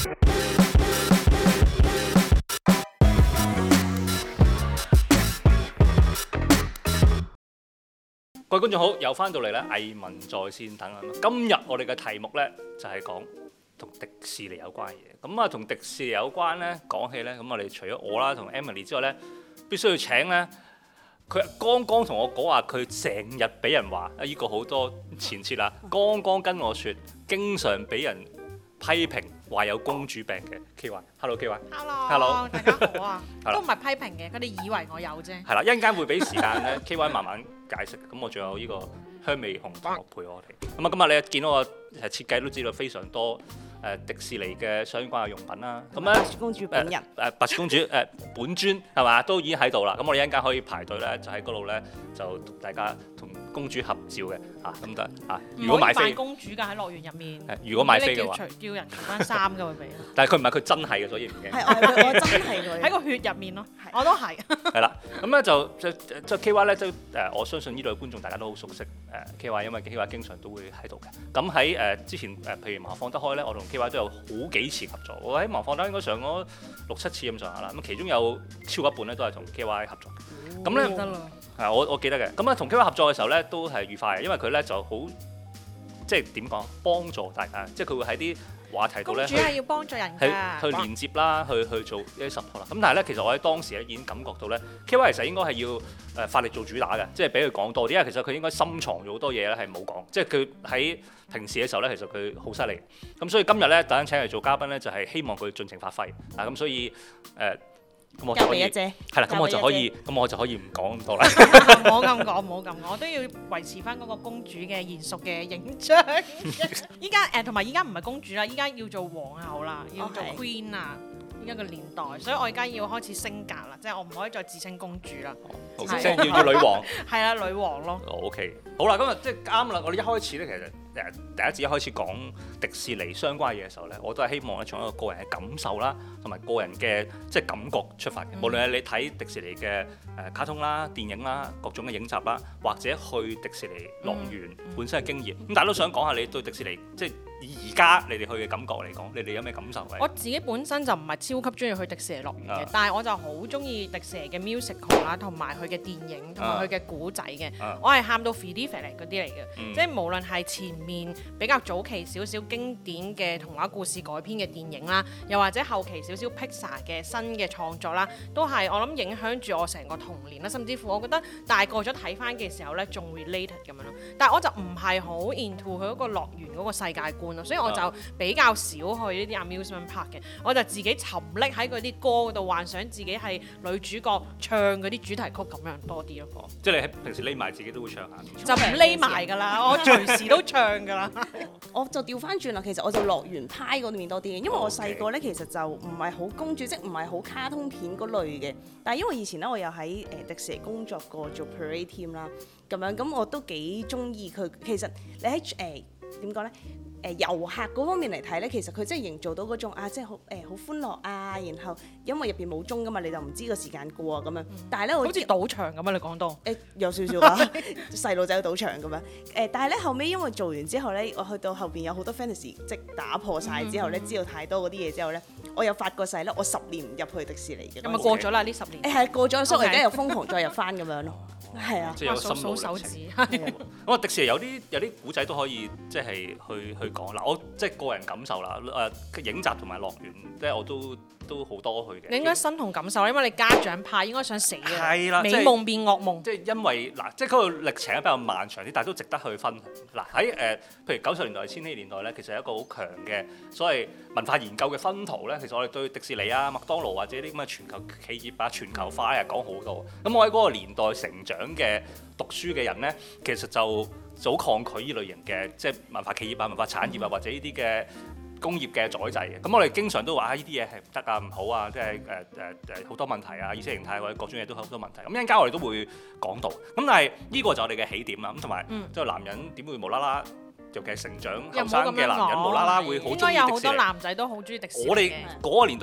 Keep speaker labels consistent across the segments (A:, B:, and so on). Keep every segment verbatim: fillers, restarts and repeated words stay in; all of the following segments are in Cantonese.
A: 各位觀眾好，又翻到嚟咧，藝文在線等等。今日我哋嘅題目咧就係講同迪士尼有關嘅嘢。咁啊，同迪士尼有關咧，講起咧，咁我哋除咗我啦同 Emily 之外咧，必須要請咧，佢剛剛同我講話，佢成日俾人話啊，依個好多前設啦。剛剛跟我説，經常俾人批評話有公主病嘅 K Y。Hello K Y。Hello，
B: 大家好啊。都唔係批評嘅，佢哋以為我有啫。
A: 係啦，一陣間會俾時間咧 K Y 慢慢解釋。咁我仲有呢個香味紅同學陪我哋。咁啊，今日你見到我誒設計都知道非常多誒迪士尼嘅相關嘅用品啦。咁咧，
C: 白雪公主本人
A: 誒白雪公主誒本尊係嘛，都已經喺度啦。咁我哋一陣間可以排隊咧，就喺嗰度咧就同大家同公主合照嘅嚇，咁得嚇。如果買飛，
B: 唔可以扮公主㗎喺樂園入面。
A: 如果買飛嘅話，
B: 叫叫人除翻衫㗎會俾。
A: 但係佢唔係佢真係嘅，所以唔驚。
C: 係我我真係佢
B: 喺個血入面咯，我都係。
A: 係啦，咁咧就就就 K Y 咧都誒，我相信呢類觀眾大家都好熟悉誒 K Y， 因為 K Y 經常都會喺度嘅。咁喺誒之前誒，譬如麻放得開咧，我同 K Y 都有好幾次合作。我喺麻放得開應該上咗六七次咁上下啦。咁其中有超過一半咧都係同 K Y 合作。咁咧
B: 得啦。
A: 係我我記得嘅。咁啊同 K Y 合作嘅時候咧都係愉快嘅，因為佢咧就好即係點講，幫助大家，即係佢會喺啲話題度咧，
B: 公主係要幫助人㗎，
A: 去連接啦，去去做一啲 support 啦。咁但係咧，其實我喺當時咧已經感覺到咧 K Y 其實應該係要誒發力做主打嘅，即係俾佢講多啲。因為其實佢應該深藏咗好多嘢咧係冇講，即係佢喺平時嘅時候咧，其實佢好犀利。咁所以今日咧，特登請佢做嘉賓咧，就係希望佢盡情發揮。啊，咁所以誒。呃咁我就可以係啦，咁我就可以，咁我就可以唔講咁多啦。
B: 唔好咁講，唔好咁講，我都要維持翻嗰個公主嘅賢淑嘅形象。依家誒同埋依家唔係公主啦，依家要做皇后啦，要做 Queen 啊。依家個年代，所以我而家要開始升格啦，即係我唔可以再自稱公主啦。
A: 即係要要女王。
B: 係啦，女王咯。
A: O K，好啦，今日即係啱啦。我哋一開始咧，其實誒第一次一開始講迪士尼相關嘢嘅時候咧，我都係希望咧從一個個人嘅感受啦，同埋個人嘅即係感覺出發嘅。嗯、無論係你睇迪士尼嘅誒卡通啦、電影啦、各種嘅影集啦，或者去迪士尼樂園本身嘅經驗，咁、嗯、大家都想講下你對迪士尼即係而家你哋去嘅感覺嚟講，你哋有咩感受？
B: 我自己本身就唔係超級中意去迪士尼樂園嘅，
A: 啊、
B: 但係我就好中意迪士尼嘅 musical 啦，同埋佢嘅電影同埋佢嘅古仔嘅。
A: 啊、
B: 我係喊到 feel 嚟嗰啲嚟嘅，
A: 嗯、
B: 即係無論係前面比較早期少少經典嘅童話故事改編嘅電影啦，又或者後期少少 Pixar 嘅新嘅創作啦，都係我諗影響住我成個童年啦，甚至乎我覺得大個咗睇翻嘅時候咧，仲 related 咁樣咯。但係我就唔係好 into 佢嗰個樂園嗰個世界觀咯，所以我就比較少去呢啲 amusement park 嘅，我就自己沉溺喺嗰啲歌嗰度，幻想自己係女主角唱嗰啲主題曲咁樣多啲咯。
A: 即係你喺平時匿埋自己都會唱下。
B: 就唔匿埋㗎啦，我隨時都唱㗎啦。
C: 我就調翻轉啦，其實我就樂園派嗰邊多啲嘅，因為我細個咧其實就唔係好公主，即唔係好卡通片嗰類嘅。但係因為以前咧我又喺誒迪士尼工作過做 parade team 啦，咁樣咁我都幾中意佢。其實你喺誒點講咧？誒、呃、遊客嗰方面嚟睇咧，其實佢真係營造到嗰種啊，即係好誒好歡樂啊，然後因為入邊冇鐘噶嘛，你就唔知個時間過啊咁樣。嗯、但係咧，好似
B: 賭場咁啊！你講到誒、
C: 欸、有少少啊，細路仔去賭場咁樣。誒、呃，但係咧後尾因為做完之後咧，我去到後邊有好多 fantasy 即打破晒之後咧，嗯、知道太多嗰啲嘢之後咧，我又發過誓咧，我十年唔入去迪士尼嘅。
B: 咁咪過咗啦？呢十年
C: 誒係、欸、過咗，所以我而家又瘋狂再入翻咁樣咯。係啊，
A: 即係有心路歷程。咁啊，迪士尼有啲有啲古仔都可以即係去去講嗱，我即係個人感受啦。誒影集同埋樂園，即係我都都好多去嘅。
B: 你應該身同感受，因為你家長派應該想死嘅。
A: 係啦，
B: 美夢變噩夢。
A: 即係因為嗱，即係嗰個歷程比較漫長啲，但係都值得去分享。嗱喺誒，譬如九十年代、千禧年代咧，其實有一個好強嘅所謂文化研究嘅薰陶咧。其實我哋對迪士尼啊、麥當勞或者啲咁嘅全球企業啊、全球化咧講好多。咁我喺嗰個年代成長嘅讀書嘅人咧，其實就就好抗拒呢類型嘅即係文化企業啊、文化產業啊，或者呢啲嘅工業嘅宰制嘅。咁我哋經常都話啊，呢啲嘢係唔得啊、唔好啊，即係誒誒誒好多問題啊，意識形態或者各種嘢都好多問題。咁一陣間我哋都會講到。咁但係呢個就係我哋嘅起點啦。咁同埋即係男人點會無啦啦？尤其係成長後生嘅男人，無啦啦會好中意迪士尼。應該有好
B: 多男仔都好中意迪士尼。
A: 我哋嗰個年代就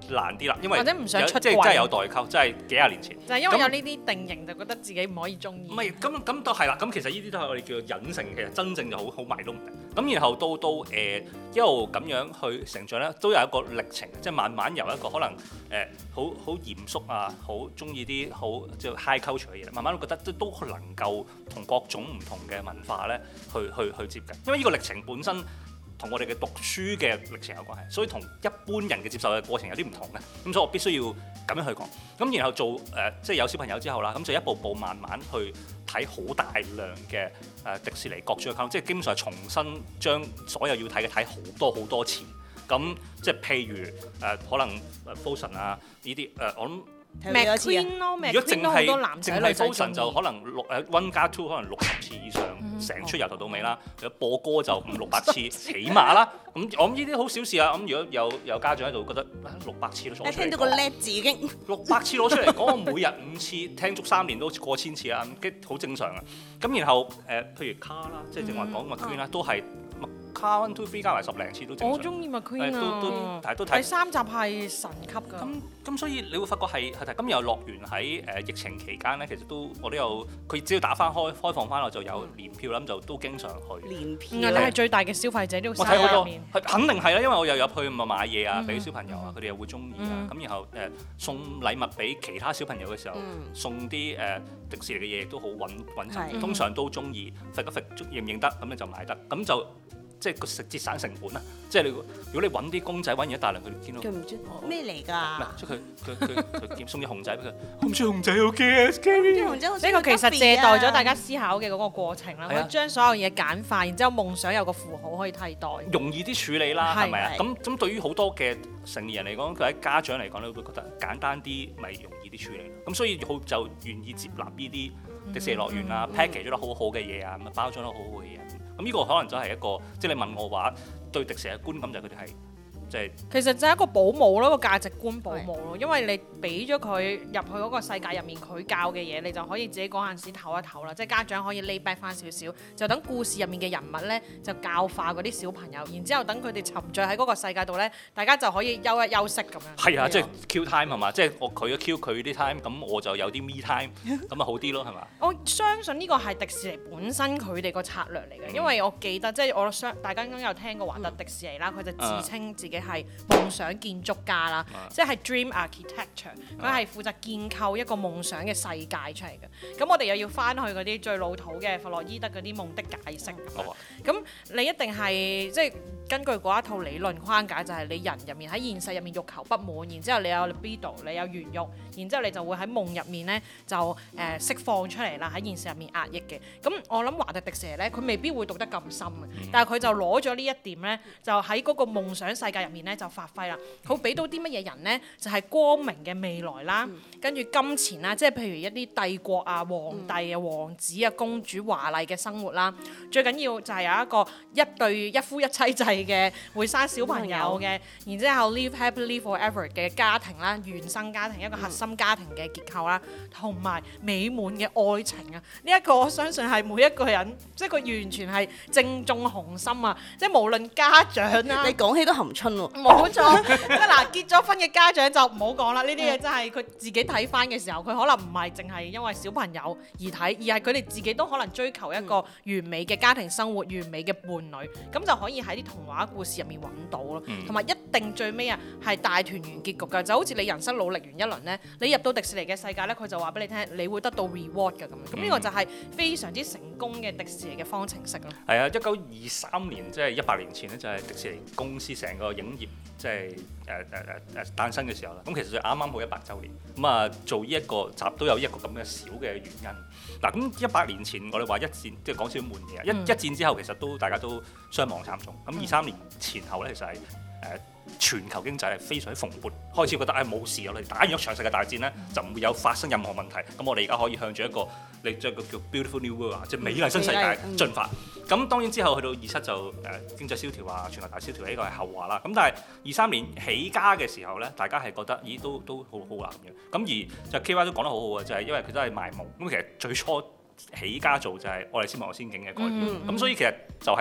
A: 難啲啦，因為
B: 或者唔想出櫃
A: 即係真係有代溝，真係幾廿年前。
B: 就係因為有呢啲定型，就覺得自己唔可以中意。
A: 唔係咁咁都係啦，咁其實呢啲都係我哋叫做隱性，其實真正就好好迷都唔定。咁然後到到誒、呃、一路咁樣去成長咧，都有一個歷程，即係慢慢由一個可能誒好好嚴肅啊，好中意啲好即係 high culture 嘅嘢，慢慢都覺得都都能夠同各種唔同嘅文化咧去去去接近，因為呢個歷程本身同我哋嘅讀書嘅歷程有關係，所以同一般人嘅接受嘅過程有啲唔同嘅，咁所以我必須要咁樣去講。咁然後做誒、呃、即係有小朋友之後啦，咁就一步步慢慢去睇好大量嘅誒、呃、迪士尼各種嘅卡通，即係基本上係重新將所有要睇嘅睇好多好多次。咁即係譬如誒、呃、可能誒 Frozen 啊呢啲誒我諗。
B: McQueen 咯，
A: 如果淨係
B: 好多男仔
A: 淨係
B: 女仔
A: Frozen 就可能六誒 one 加 two 可能六十次以上，成出由頭到尾啦。有播歌就五六百次起碼啦。咁我諗呢啲好小事啊。咁如果有有家長喺度覺得六百次都攞出嚟講，
C: 聽到個叻字已經
A: 六百次攞出嚟講，我每日五次聽足三年都過千次啦，咁好正常啊。咁然後誒、呃，譬如卡啦，即係正話講 McQueen 啦，都係。卡 one two three 加埋十零次都正常。
B: 我中意 McQueen 啊，
A: 都都但係都睇
B: 第三集係神級㗎。
A: 咁咁所以你會發覺係係咁又樂園喺誒疫情期間咧，其實都我都有佢只要打翻開開放翻我就有年票啦，咁就都經常去。
C: 年票。
B: 你係最大嘅消費者呢個
A: 我睇好多，
B: 入面。
A: 肯定係啦，因為我又入去咪買嘢啊，俾
B: 嗯
A: 小朋友啊，佢哋又會中意啊。
B: 嗯
A: 咁然後誒送禮物俾其他小朋友嘅時候，
C: 嗯
A: 送啲誒迪士尼嘅嘢都好穩穩陣，
C: 係
A: 通常都中意，揈一揈認唔認得咁你就買得，咁就。即係個食節省成本啦，即係你如果你揾啲公仔揾完一大輪佢哋見到，
C: 佢唔知咩嚟
A: 唔
C: 㗎？
A: 係即係佢佢佢佢送隻熊仔俾佢，我唔中意熊仔好驚 scary。
C: 啲紅仔好似
B: 呢個其實借代咗大家
C: 啊
B: 思考嘅嗰個過程啦，可
A: 係啊
B: 以將所有嘢簡化，然之後夢想有個符號可以替代。
A: 容易啲處理啦，
B: 係
A: 係咪啊？
C: 係
A: 咁咁對於好多嘅成年人嚟講，佢喺家長嚟講咧，會覺得簡單啲咪容易啲處理。咁所以好就願意接納呢啲迪士尼樂園啊、
C: 嗯
A: package 咗得好好嘅嘢啊，咁啊包裝得好好嘅嘢。咁呢個可能就係一個，即係你問我話對迪士尼嘅觀感就係佢哋係即係。
B: 其實就係一個保姆咯，個價值觀保姆咯，因為你俾咗佢入去嗰個世界入面，佢教嘅嘢，你就可以自己嗰陣時唞一唞啦。即係家長可以 lay back 翻少少，就等故事入面嘅人物咧就教化嗰啲小朋友，然之後等佢哋沉醉喺嗰個世界度咧，大家就可以休一休息咁樣。
A: 係啊，即係 Q time 係嘛？即係我佢嘅 Q 佢啲 time，咁我就有啲 me time，咁啊好啲咯係嘛？
B: 我相信呢個係迪士尼本身佢哋個策略嚟嘅，因為我記得即係我相大家應該有聽過華特迪士尼啦，佢就自稱自己係夢想建築家啦，即係 Dream Architecture，佢係負責建構一個夢想嘅世界出嚟嘅。咁我哋又要翻去嗰啲最老土嘅弗洛伊德嗰啲夢的解釋咁樣。咁你一定係即係根據嗰一套理論框架，就係你人入面喺現實入面欲求不滿，然之後你有 libido，你有原慾，然之後你就會喺夢入面咧就誒、呃、釋放出嚟啦，喺現實入面壓抑嘅。咁我諗華特迪士尼咧，佢未必會讀得咁深嘅，但係佢就攞咗呢一點咧，就喺嗰個夢想世界入面咧就發揮啦。佢俾到啲乜嘢人咧？就係、是、光明嘅未來啦，跟住金錢啦，即係譬如一啲帝國啊、皇帝啊、王子啊、公主華麗嘅生活啦。最緊要就係有一個一對一夫一妻制嘅會生小朋友嘅，然之後 live happily forever 嘅家庭啦，原生家庭一個核心家庭嘅結構啦，同埋美滿嘅愛情啊！呢、這、一個我相信係每一個人，即係佢完全係正中紅心啊！即係無論家長啦，
C: 你講起都含春喎。
B: 冇錯，即係嗱結咗婚嘅家長就唔好講啦，呢啲嘢真係佢自己睇翻嘅時候，佢可能唔係淨係因為小朋友而睇，而係佢哋自己都可能追求一個完美嘅家庭生活、完美嘅伴侶，咁就可以喺啲童話故事入面揾到咯。同埋、嗯、一定最尾啊係大團圓結局㗎，就好似你人生努力完一輪呢，你入到迪士尼嘅世界呢，佢就話俾你聽，你會得到 reward 㗎咁。咁呢個就係非常之成功嘅迪士尼嘅方程式咯。
A: 係啊，一九二三年即係一百年前呢，就係、是、迪士尼公司成個影業即係誒誒誒誒誕生嘅時候啦。咁其實就啱啱好一百週年，咁啊做呢一個集都有一個咁嘅小嘅原因。嗱，咁一百年前我哋話一戰，即係講少少悶嘢啊。一、嗯、一戰之後其實都大家都傷亡慘重。咁二三年前後咧，其實係誒、呃、全球經濟係非常之蓬勃，開始覺得誒冇、哎、事，我哋打完一場世界大戰咧，就唔會有發生任何問題。咁我哋而家可以向住一個你即係個叫 Beautiful New World 啊，即係美麗新世界進發。咁、嗯、當然之後去到二七就誒、呃、經濟蕭條啊，全球大蕭條呢個係後話啦。咁但係二三年起家嘅時候咧，大家係覺得咦都都好好難嘅。咁而就 K Y 都講得好好嘅，就係、是、因為佢都係賣夢。咁其實最初起家做就係愛麗絲夢遊仙境嘅概念。咁、嗯嗯、所以其實就係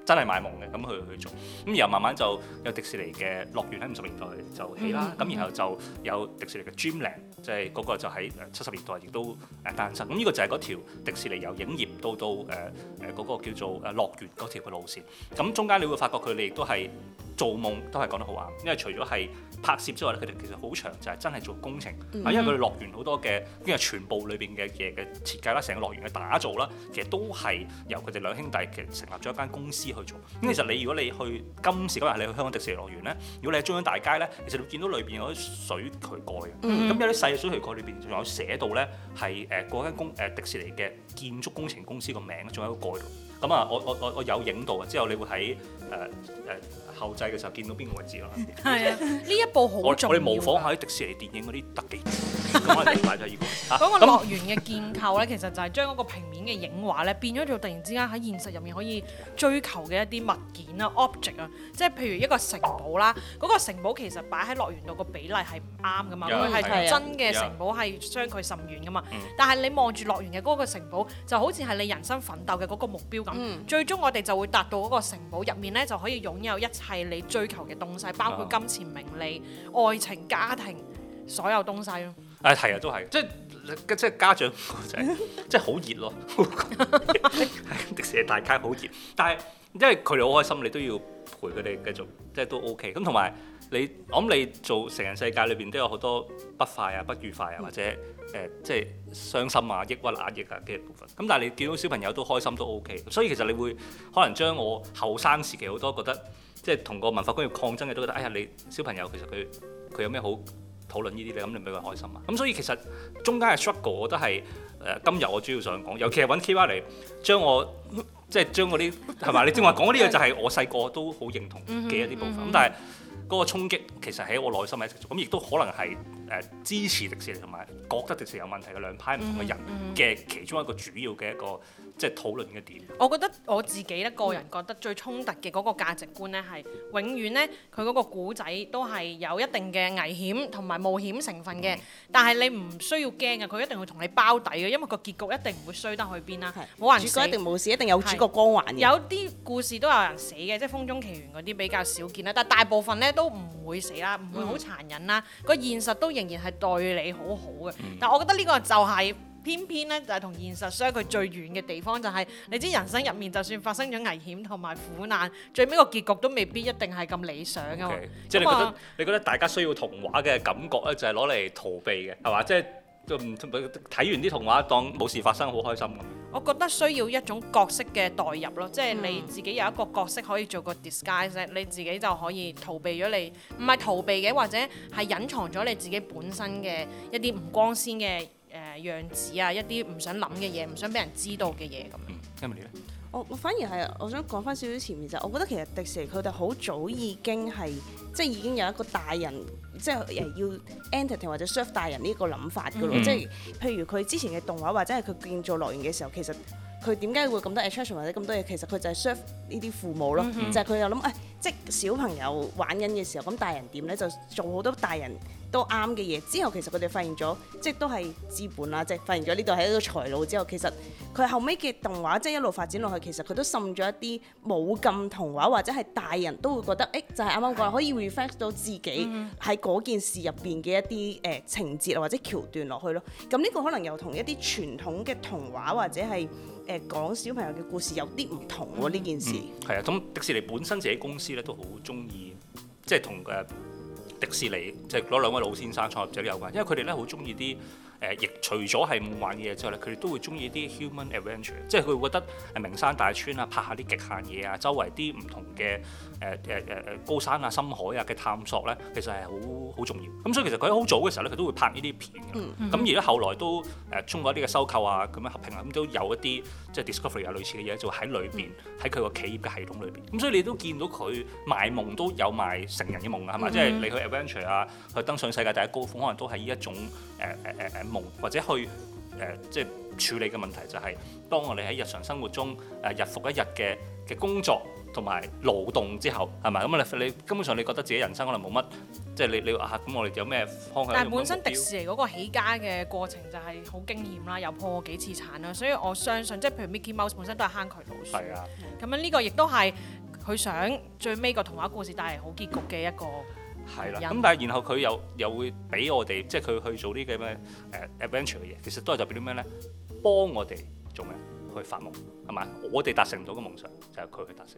A: 真係賣夢嘅，咁去去做，咁然後慢慢就有迪士尼嘅樂園喺五十年代就起啦，咁、嗯、然後就有迪士尼嘅 Dreamland， 即係嗰個就喺七十年代亦都誒誕生，咁呢個就係嗰條迪士尼由影業到到誒誒嗰個叫做誒樂園嗰條嘅路線，咁中間你會發覺佢哋亦都係做夢都係講得好啱，因為除咗係拍攝之外咧，佢哋其實好長就係真係做工程，嗯、因為佢哋樂園好多嘅因為全部裏邊嘅嘢嘅設計啦，成個樂園嘅打造啦，其實都係由佢哋兩兄弟其實成立咗一間公司去做。咁其實你如果你去今時今日你去香港迪士尼樂園咧，如果你喺中央大街咧，其實你會見到裏邊有啲水渠蓋嘅，咁、嗯、有啲細嘅水渠蓋裏邊仲有寫到咧係誒嗰間公誒迪士尼嘅建築工程公司個名，仲有一個蓋度。咁啊，我我我我有影到啊，之後你會喺誒誒後製嘅時候見到邊個位置咯。
B: 係啊，呢一部好重要。我哋
A: 模仿下啲迪士尼電影嗰啲特技，咁我哋買咗依個。
B: 嗰個樂園嘅建構咧，其實就係將嗰個平面嘅影畫咧，變咗做突然之間喺現實入面可以追求嘅一啲物件啊 object 啊，即係譬如一個城堡啦，嗰、嗰個城堡其實擺喺樂園度個比例係唔啱噶嘛，佢係同真嘅城堡係相距甚遠噶嘛。嗯、但係你望住樂園嘅嗰個城堡，就好似係你人生奮鬥嘅嗰個目標咁。嗯、最終我哋就會達到嗰個城堡入面咧，就可以擁有一切你追求嘅東西，包括金錢、名利、愛情、家庭，所有東西咯。
A: 誒係啊，都係，即係即係家長就係即係好熱咯，迪士尼大街好熱，但係因為佢哋好開心，你都要陪佢哋繼續，即係都 OK。咁同埋你，我諗你做成人世界裏邊都有好多不快啊、不愉快啊，或者誒、呃、即係傷心啊、抑鬱、壓抑啊嘅部分。咁但係你見到小朋友都開心都 OK，所以其實你會可能將我後生時期好多覺得即係同個文化工業抗爭嘅都覺得，哎呀你小朋友其實佢佢有咩好討論呢啲咧，咁你俾佢開心啊！咁所以其實中間嘅 struggle， 我覺得係誒、呃、今日我主要想講，尤其係揾 K Y 嚟將我即係將嗰啲係嘛？你正話講嗰啲嘢就係我細個都好認同嘅一啲部分。咁、嗯嗯、但係嗰個衝擊其實喺我內心係一直做，咁亦都可能係誒、呃、支持迪士尼同埋覺得迪士尼有問題嘅兩派唔同嘅人嘅其中一個主要嘅一個即係討論嘅點。
B: 我覺得我自己咧個人覺得最衝突嘅嗰個價值觀咧係永遠咧佢嗰個古仔都係有一定嘅危險同埋冒險成分嘅，嗯、但係你唔需要驚嘅，佢一定會同你包底嘅，因為個結局一定唔會衰得去邊啦。冇人死，主角
C: 一定冇事，一定有主角光環嘅。
B: 有啲故事都有人死嘅，即係《風中奇緣》嗰啲比較少見啦，但係大部分咧都唔會死啦，唔會好殘忍啦，個、嗯、現實都仍然係對你好好嘅。嗯、但係我覺得呢個就係、是。偏偏咧就係同現實相距最遠嘅地方，就係、是、你知人生入面就算發生咗危險同埋苦難，最尾個結局都未必一定係咁理想㗎嘛。
A: Okay. 即係你覺得你覺得大家需要童話嘅感覺咧，就係攞嚟逃避嘅，係嘛？即係睇完啲童話當冇事發生，好開心咁。
B: 我覺得需要一種角色嘅代入咯，即係你自己有一個角色可以做個 disguise，你自己就可以逃避咗你，唔係逃避嘅，或者係隱藏咗你自己本身嘅一啲唔光鮮嘅。誒、呃、樣子啊，一啲唔想諗嘅嘢，唔想俾人知道嘅嘢咁樣。
A: 嗯，因為你咧？
C: 我我反而係，我想講翻少少前面就，我覺得其實迪士尼佢哋好早已經係，即係已經有一個大人，即係誒要 entertain 或者 serve 大人呢個諗法噶咯。嗯、即係譬如佢之前嘅動畫或者係佢建造樂園嘅時候，其實佢點解會咁多 attraction 或者咁多嘢？其實佢就係 serve 呢啲父母咯，嗯、就係佢又諗誒，即係小朋友玩緊嘅時候，咁大人點咧就做好多大人都啱嘅嘢，之後其實佢哋發現咗，即係都係資本啦，即係發現咗呢度係一個財路之後，其實佢後尾嘅動畫即係一路發展落去，其實佢都滲咗一啲冇咁童話或者係大人都會覺得，誒、欸、就係啱啱講可以 reflect 到自己喺嗰件事入邊嘅一啲誒、呃、情節或者橋段落去咯。咁呢個可能又同一啲傳統嘅童話或者係誒、呃、講小朋友嘅故事有啲唔同喎呢、嗯、件事。
A: 係啊、嗯，咁迪士尼本身自己公司咧都好中意，即係同誒。迪士尼即係嗰兩位老先生創立者都有關，因為佢哋咧好中意啲誒，亦除咗係夢幻嘅嘢之外咧，佢哋都會中意啲 human adventure，即係佢會覺得誒名山大川啊，拍下啲極限嘢啊，周圍啲唔同嘅誒誒誒誒高山啊、深海啊嘅探索咧，其實係好好重要。咁所以其實佢喺好早嘅時候咧，佢都會拍呢啲片嘅。咁、嗯、而咧後來都誒通過一啲嘅收購啊，咁樣合併啊，咁都有一啲即係 Discovery 啊類似嘅嘢，就喺裏邊喺佢個企業嘅系統裏邊。咁所以你都見到佢賣夢都有賣成人嘅夢啊，係嘛？即係、嗯、你去 adventure 啊，去登上世界第一高峰，可能都係呢一種誒誒誒誒夢，或者去誒、呃、即係處理嘅問題就係、是，當我哋喺日常生活中誒、呃、日復一日嘅嘅工作同埋勞動之後係咪？咁你你根本上你覺得自己人生可能冇乜，即係你你話啊咁我哋有咩方向？
B: 但係本身迪士尼嗰個起家嘅過程就係好驚險啦，又破過幾次產啦，所以我相信即係譬如 Mickey Mouse 本身都係坑渠老鼠。
A: 係啊。
B: 咁樣呢個亦都係佢想最尾個童話故事帶嚟好結局嘅一個。
A: 係啦，咁但係然後佢又又會俾我哋，即係佢去做啲嘅咩誒 adventure 嘅嘢，其實都係代表啲咩咧？幫我哋做咩？去發夢係咪？我哋達成唔到嘅夢想，就係佢去達成。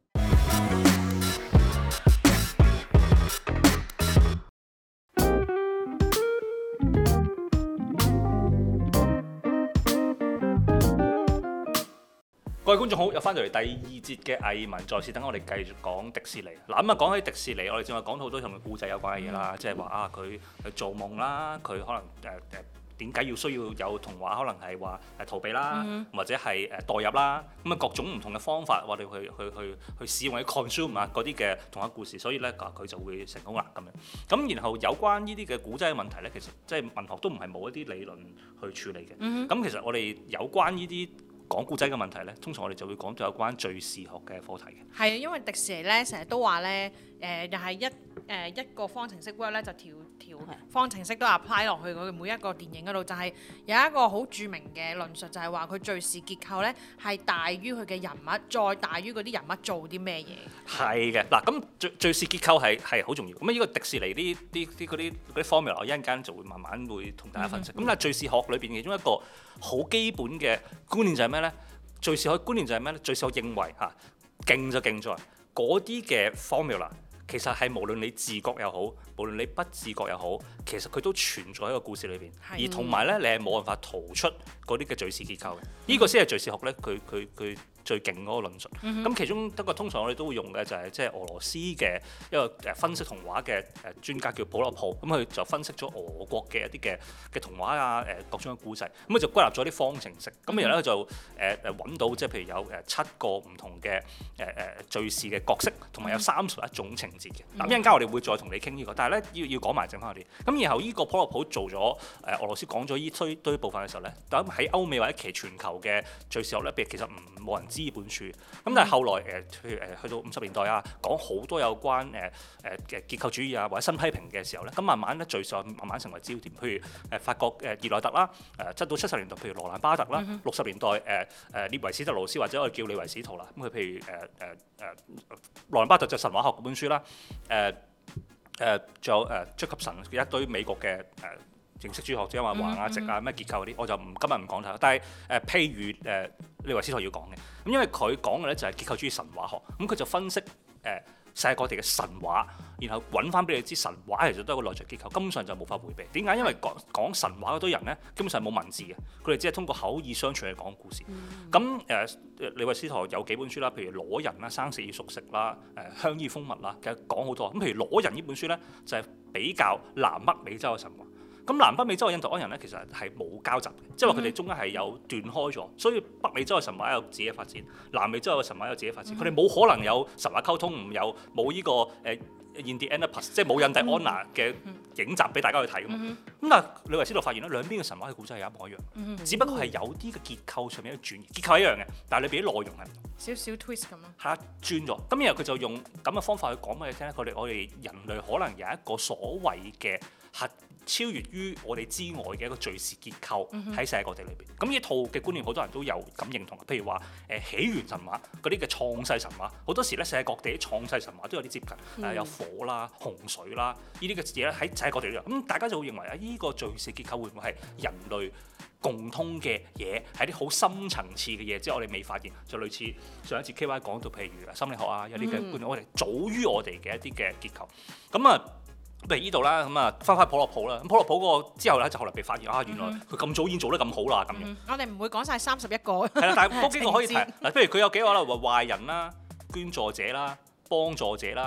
A: 各位觀眾好，又翻到嚟第二節嘅藝文在線，等我哋繼續講迪士尼。嗱咁啊，講起迪士尼，我哋正話講到好多同故仔有關嘅嘢啦，即係話啊，佢去做夢啦，佢可能誒誒。呃點解要需要有童話？可能係話誒逃避啦，嗯、或者係誒代入啦，咁啊各種唔同嘅方法，我哋去去去去使用啲 consume 啊嗰啲嘅童話故事，所以咧佢就會成功啦咁樣。咁然後有關呢啲嘅古仔嘅問題咧，其實即係文學都唔係冇一啲理論去處理嘅。咁、嗯、其實我哋有關呢啲講故仔嘅問題咧，通常我哋就會講到有關敘事學嘅課題嘅。係
B: 啊，因為迪士尼咧成日都話咧誒，又係一誒、呃、一個方程式 work 咧就調。條方程式都 apply 落去佢每一個電影嗰度，就係有一個好著名嘅論述，就係話佢敘事結構咧係大於佢嘅人物，再大於嗰啲人物做啲咩嘢。
A: 係嘅，嗱咁敘敘事結構係係好重要。咁啊，呢個迪士尼啲啲啲嗰啲嗰啲 formula，我一陣間就會慢慢會同大家分析。咁、嗯、但係敘事學裏邊其中一個好基本嘅觀念就係咩咧？敘事學觀念就係咩咧？敘事學認為嚇勁就勁在嗰啲嘅 formula。其實係無論你自覺又好，無論你不自覺又好，其實佢都存在喺個故事裏邊。而同埋咧，你係冇辦法逃出嗰啲嘅敘事結構嘅。呢、嗯、個先係敘事學咧，佢佢佢最勁嗰個論述。咁、嗯、其中一個通常我哋都會用嘅就係即係俄羅斯嘅一個誒分析童話嘅誒專家叫普洛普。咁佢就分析咗俄國嘅一啲嘅嘅童話啊誒各種嘅故仔。咁佢就歸納咗啲方程式。咁然後咧就誒誒揾到即係譬如有誒七個唔同嘅誒誒敘事嘅角色，同埋有三十一種情節嘅。咁一陣間我哋會再同你傾呢個，但係咧要要講埋剩翻嗰啲。咁然後呢個普洛普做咗誒俄羅斯講咗呢堆堆部分嘅時候咧，咁喺歐美或者其全球嘅敘事學咧，其實唔冇人知呢本書。咁但係後來誒譬如誒去到五十年代啊，講好多有關誒誒嘅結構主義啊或者新批評嘅時候咧，咁慢慢咧敘事學慢慢成為焦點。譬如誒法國誒熱內特啦，誒即到七十年代譬如羅蘭巴特啦，六十、嗯、年代誒誒列維史特勞斯或者我哋叫李維史圖啦。咁佢譬如誒誒誒羅蘭巴特就神話學嗰本書啦。誒誒，仲有誒 Jacobson 一堆美國嘅誒認識主義學者話橫啊直啊咩結構嗰啲，我就唔今日唔講睇啦。但係誒、呃、譬如誒李維斯圖要講嘅，咁因為佢講嘅咧就係結構主義神話學，咁佢就分析誒、呃、世界各地嘅神話，然後揾翻俾你知神話其實都係一個內在結構，根本上就無法迴避。點解？因為講講神話嗰堆人咧，基本上冇文字嘅，佢哋只係通過口耳相傳去講故事。咁誒、嗯。李維斯圖有幾本書啦，譬如《裸人》啦、《生死與熟食》啦、誒《香衣蜂蜜》啦，其實講好多。咁譬如《裸人》呢本書咧，就係、是、比較南北美洲嘅神話。咁南北美洲嘅印第安人咧，其實係冇交集嘅，即係話佢哋中間係有斷開咗，所以北美洲嘅神話有自己嘅發展，南美洲嘅神話有自己嘅發展。佢哋冇可能有神話溝通，唔有冇呢、這個誒。呃印第安納即係冇印第安納嘅影集俾大家去睇㗎嘛。咁、嗯、但係李維斯圖發現咧，兩邊嘅神話嘅故仔係一模一樣，嗯、只不過係有啲嘅結構上面嘅轉移，結構係一樣嘅，但係裏邊啲內容係唔同，
B: 少少 twist 咁咯。
A: 係啊，轉咗。咁然後佢就用咁嘅方法去講俾你聽咧，佢哋我哋人類可能有一個所謂嘅核超越於我哋之外嘅一個敘事結構喺世界各地裏邊。咁呢、嗯、套嘅觀念好多人都有咁認同。譬如話誒起源神話嗰啲嘅創世神話，好多時咧世界各地啲創世神話都有啲接近，誒、嗯、有火啦、洪水啦呢啲嘅嘢咧喺世界各地都有。咁大家就會認為啊，呢、這個敘事結構會唔會係人類共通嘅嘢，係啲好深層次嘅嘢，即係我哋未發現，就類似上一次 K Y 講到，譬如心理學啊，有啲嘅觀念，嗯、我哋早於我哋嘅一啲嘅結構。咁啊，譬如呢度啦，咁啊翻返普洛普啦，咁普洛普個之後咧就後來被發現啊，原來佢咁早已經做得咁好啦，咁樣。
B: 嗯、我哋唔會講晒三十一個。
A: 係啦，但係嗰幾個可以提嗱，譬如佢有幾個啦，話壞人啦、捐助者啦、幫助者啦、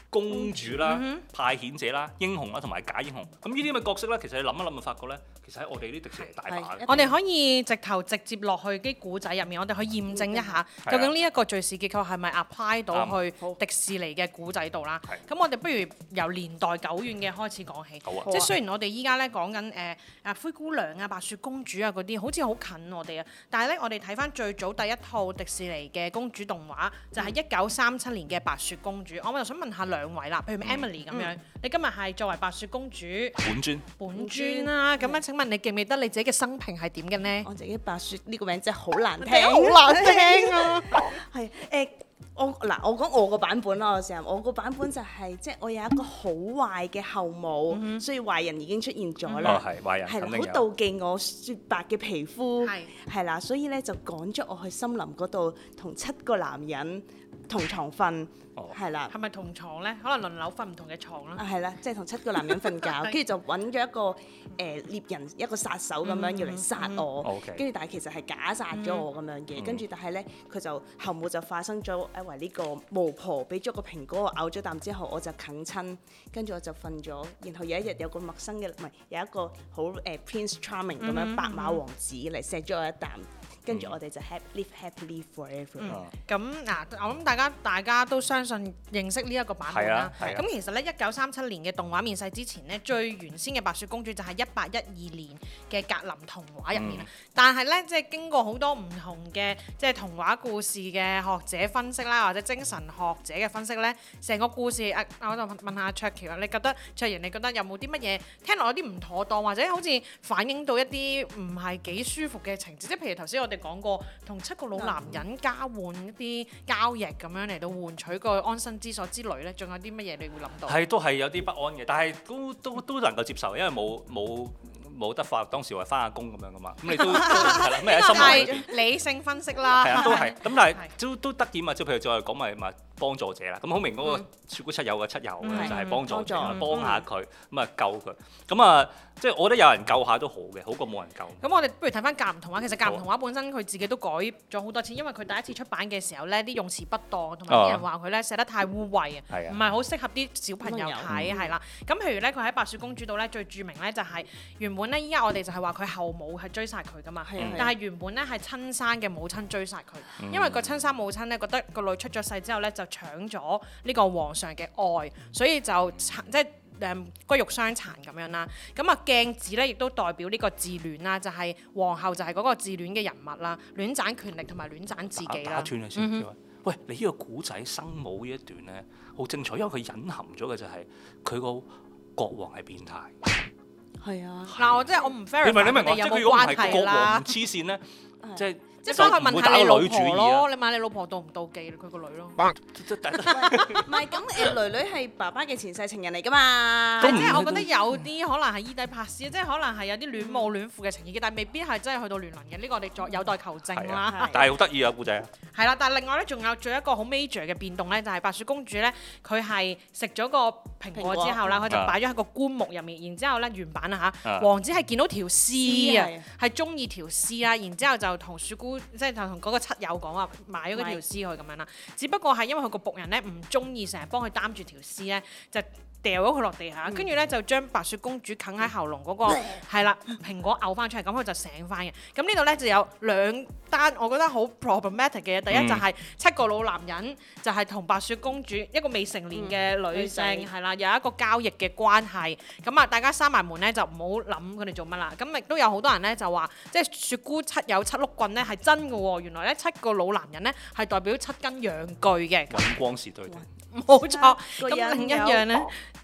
A: 公主啦、派遣者啦、英雄啦同埋假英雄。咁呢啲咁嘅角色咧，其實你諗一諗就發覺咧，其實喺我哋啲迪士尼大把嘅。
B: 我哋可以直頭直接落去啲古仔入面，我哋可以驗證一下，究竟呢一個敘事結構係咪 apply 到去迪士尼嘅古仔度啦？咁我哋不如由年代久遠嘅開始講起。即係雖然我哋依家咧講緊誒啊灰姑娘啊、白雪公主啊嗰啲，好似好近我哋啊，但係咧我哋睇翻最早第一套迪士尼嘅公主動畫，就係一九三七年嘅白雪公主。我就想問下兩位啦，譬如 Emily 咁樣，你今日係作為白雪公主
A: 本尊
B: 本尊啦，咁樣請問你記唔記得你自己嘅生平係點嘅呢？
C: 我自己白雪呢個名真係好難聽，
B: 好難聽啊！
C: 係誒。我嗱，我講我個版本啦，我成日我個版本就係、是、即係我有一個好壞嘅後母，嗯、所以壞人已經出現咗啦，
A: 係、哦、壞人，
C: 係啦，好妒忌我雪白嘅皮膚，係係啦，所以咧就趕咗我去森林嗰度同七個男人同床瞓，係啦、哦。
B: 係咪同床咧？可能輪流瞓唔同嘅床啦。
C: 啊，係啦，即係同七個男人瞓覺，跟住就揾咗一個誒、呃、獵人，一個殺手咁樣要嚟殺我，跟住、嗯嗯、但係其實係假殺咗我咁樣嘅，跟住、嗯、但係咧佢就後母就化身咗一為呢個巫婆，俾咗個蘋果我咬咗啖之後我就啃親，跟住我就瞓咗，然後有一日有個陌生嘅唔係有一個好誒、呃、Prince Charming 咁樣、嗯、白馬王子嚟錫咗我一啖。跟住我哋就 happy live happily forever。咁嗱，
B: 我諗大家大家都相信認識呢一個版本啦。咁、
A: 啊啊、
B: 其實咧，一九三七年嘅動畫面世之前呢，最原先嘅白雪公主就係一八一二年嘅格林童話入面啦。嗯、但係咧，即係經過好多唔同嘅即係童話故事嘅學者分析啦，或者精神學者嘅分析咧，成個故事啊，我就問下卓橋啊，你覺得卓然，你覺得有冇啲乜嘢聽落有啲唔妥當，或者好似反映到一啲唔係幾舒服嘅情節？即係譬如頭先我哋講過同七個老男人交換一啲交易咁樣嚟到換取個安身之所之類咧，仲有啲乜嘢你會諗到？
A: 係都係有啲不安嘅，但係都都都能夠接受，因為冇冇冇得法，當時話翻下工咁樣噶嘛，咁你都係啦，咩喺心
B: 係理性分析啦，
A: 係啊，都係，咁但係都都得意嘛，即係譬如再講埋咪幫助者啦，咁好明嗰個雪姑七友嘅七友咧就係幫助者，幫下佢，咁啊救佢，咁啊即係我覺得有人救下都好嘅，好過冇人救。
B: 咁我哋不如睇翻格林童話，其實格林童話本身佢自己都改咗好多次，因為佢第一次出版嘅時候咧，啲用詞不當，同埋啲人話佢咧寫得太污穢啊，唔係好適合啲小朋友睇，係啦。咁譬如咧，佢喺白雪公主度咧最著名咧就係原本咧，依家我哋就係話佢後母係追殺佢噶嘛，但係原本咧係親生嘅母親追殺佢，因為個親生母親咧覺得個女出咗世之後咧就搶咗呢個皇上嘅愛，所以就即係誒骨肉相殘咁樣啦。咁啊鏡子咧亦都代表呢個自戀啦，就係、是、皇后就係嗰個自戀嘅人物啦，戀斬權力同埋戀斬自己啦。
A: 打斷你先，嗯、哼喂，你呢個古仔生母呢一段咧好精彩，因為佢隱含咗嘅就係佢個國王係變態。
C: 係啊，
B: 嗱我即係我唔 fair，
A: 你明你明我即係佢如果唔係國王唔黐線咧，即係。即係所以問下你老婆咯，你問你老婆妒唔妒忌佢個女咯？唔
C: 係咁誒，女女係爸爸嘅前世情人嚟㗎嘛。
B: 即係我覺得有啲可能係伊底帕斯，即係可能係有啲戀母戀父嘅情意嘅，但係未必係真係去到亂倫嘅。呢個我哋再有待求證啦。
A: 但係好得意啊，故仔啊！
B: 係啦，但係另外咧，仲有仲有一個好 major 嘅變動咧，就係白雪公主咧，佢係食咗個蘋果之後啦，佢就擺咗喺個棺木入面，然之後咧原版啊嚇，王子係見到條屍啊，係中意條屍啦，然之後就同雪姑。即係就同嗰個七友講話買咗嗰條屍去咁樣啦，只不過係因為佢個僕人咧唔中意成日幫佢擔住條屍咧，就掉咗佢落地下，跟住咧就將白雪公主啃喺喉嚨嗰個係啦蘋果嘔翻出嚟，咁佢就醒翻嘅。咁呢度咧就有兩單我覺得好 problematic 嘅嘢，第一就係七個老男人就係同白雪公主一個未成年嘅女性係啦，有一個交易嘅關係。咁啊，大家閂埋門咧就唔好諗佢哋做乜啦。咁亦都有好多人咧就話，即係雪姑七友七碌棍咧係真嘅喎。原來咧七個老男人咧係代表七根陽具嘅。
A: 揾光時對定。
B: 冇錯。咁另一樣咧。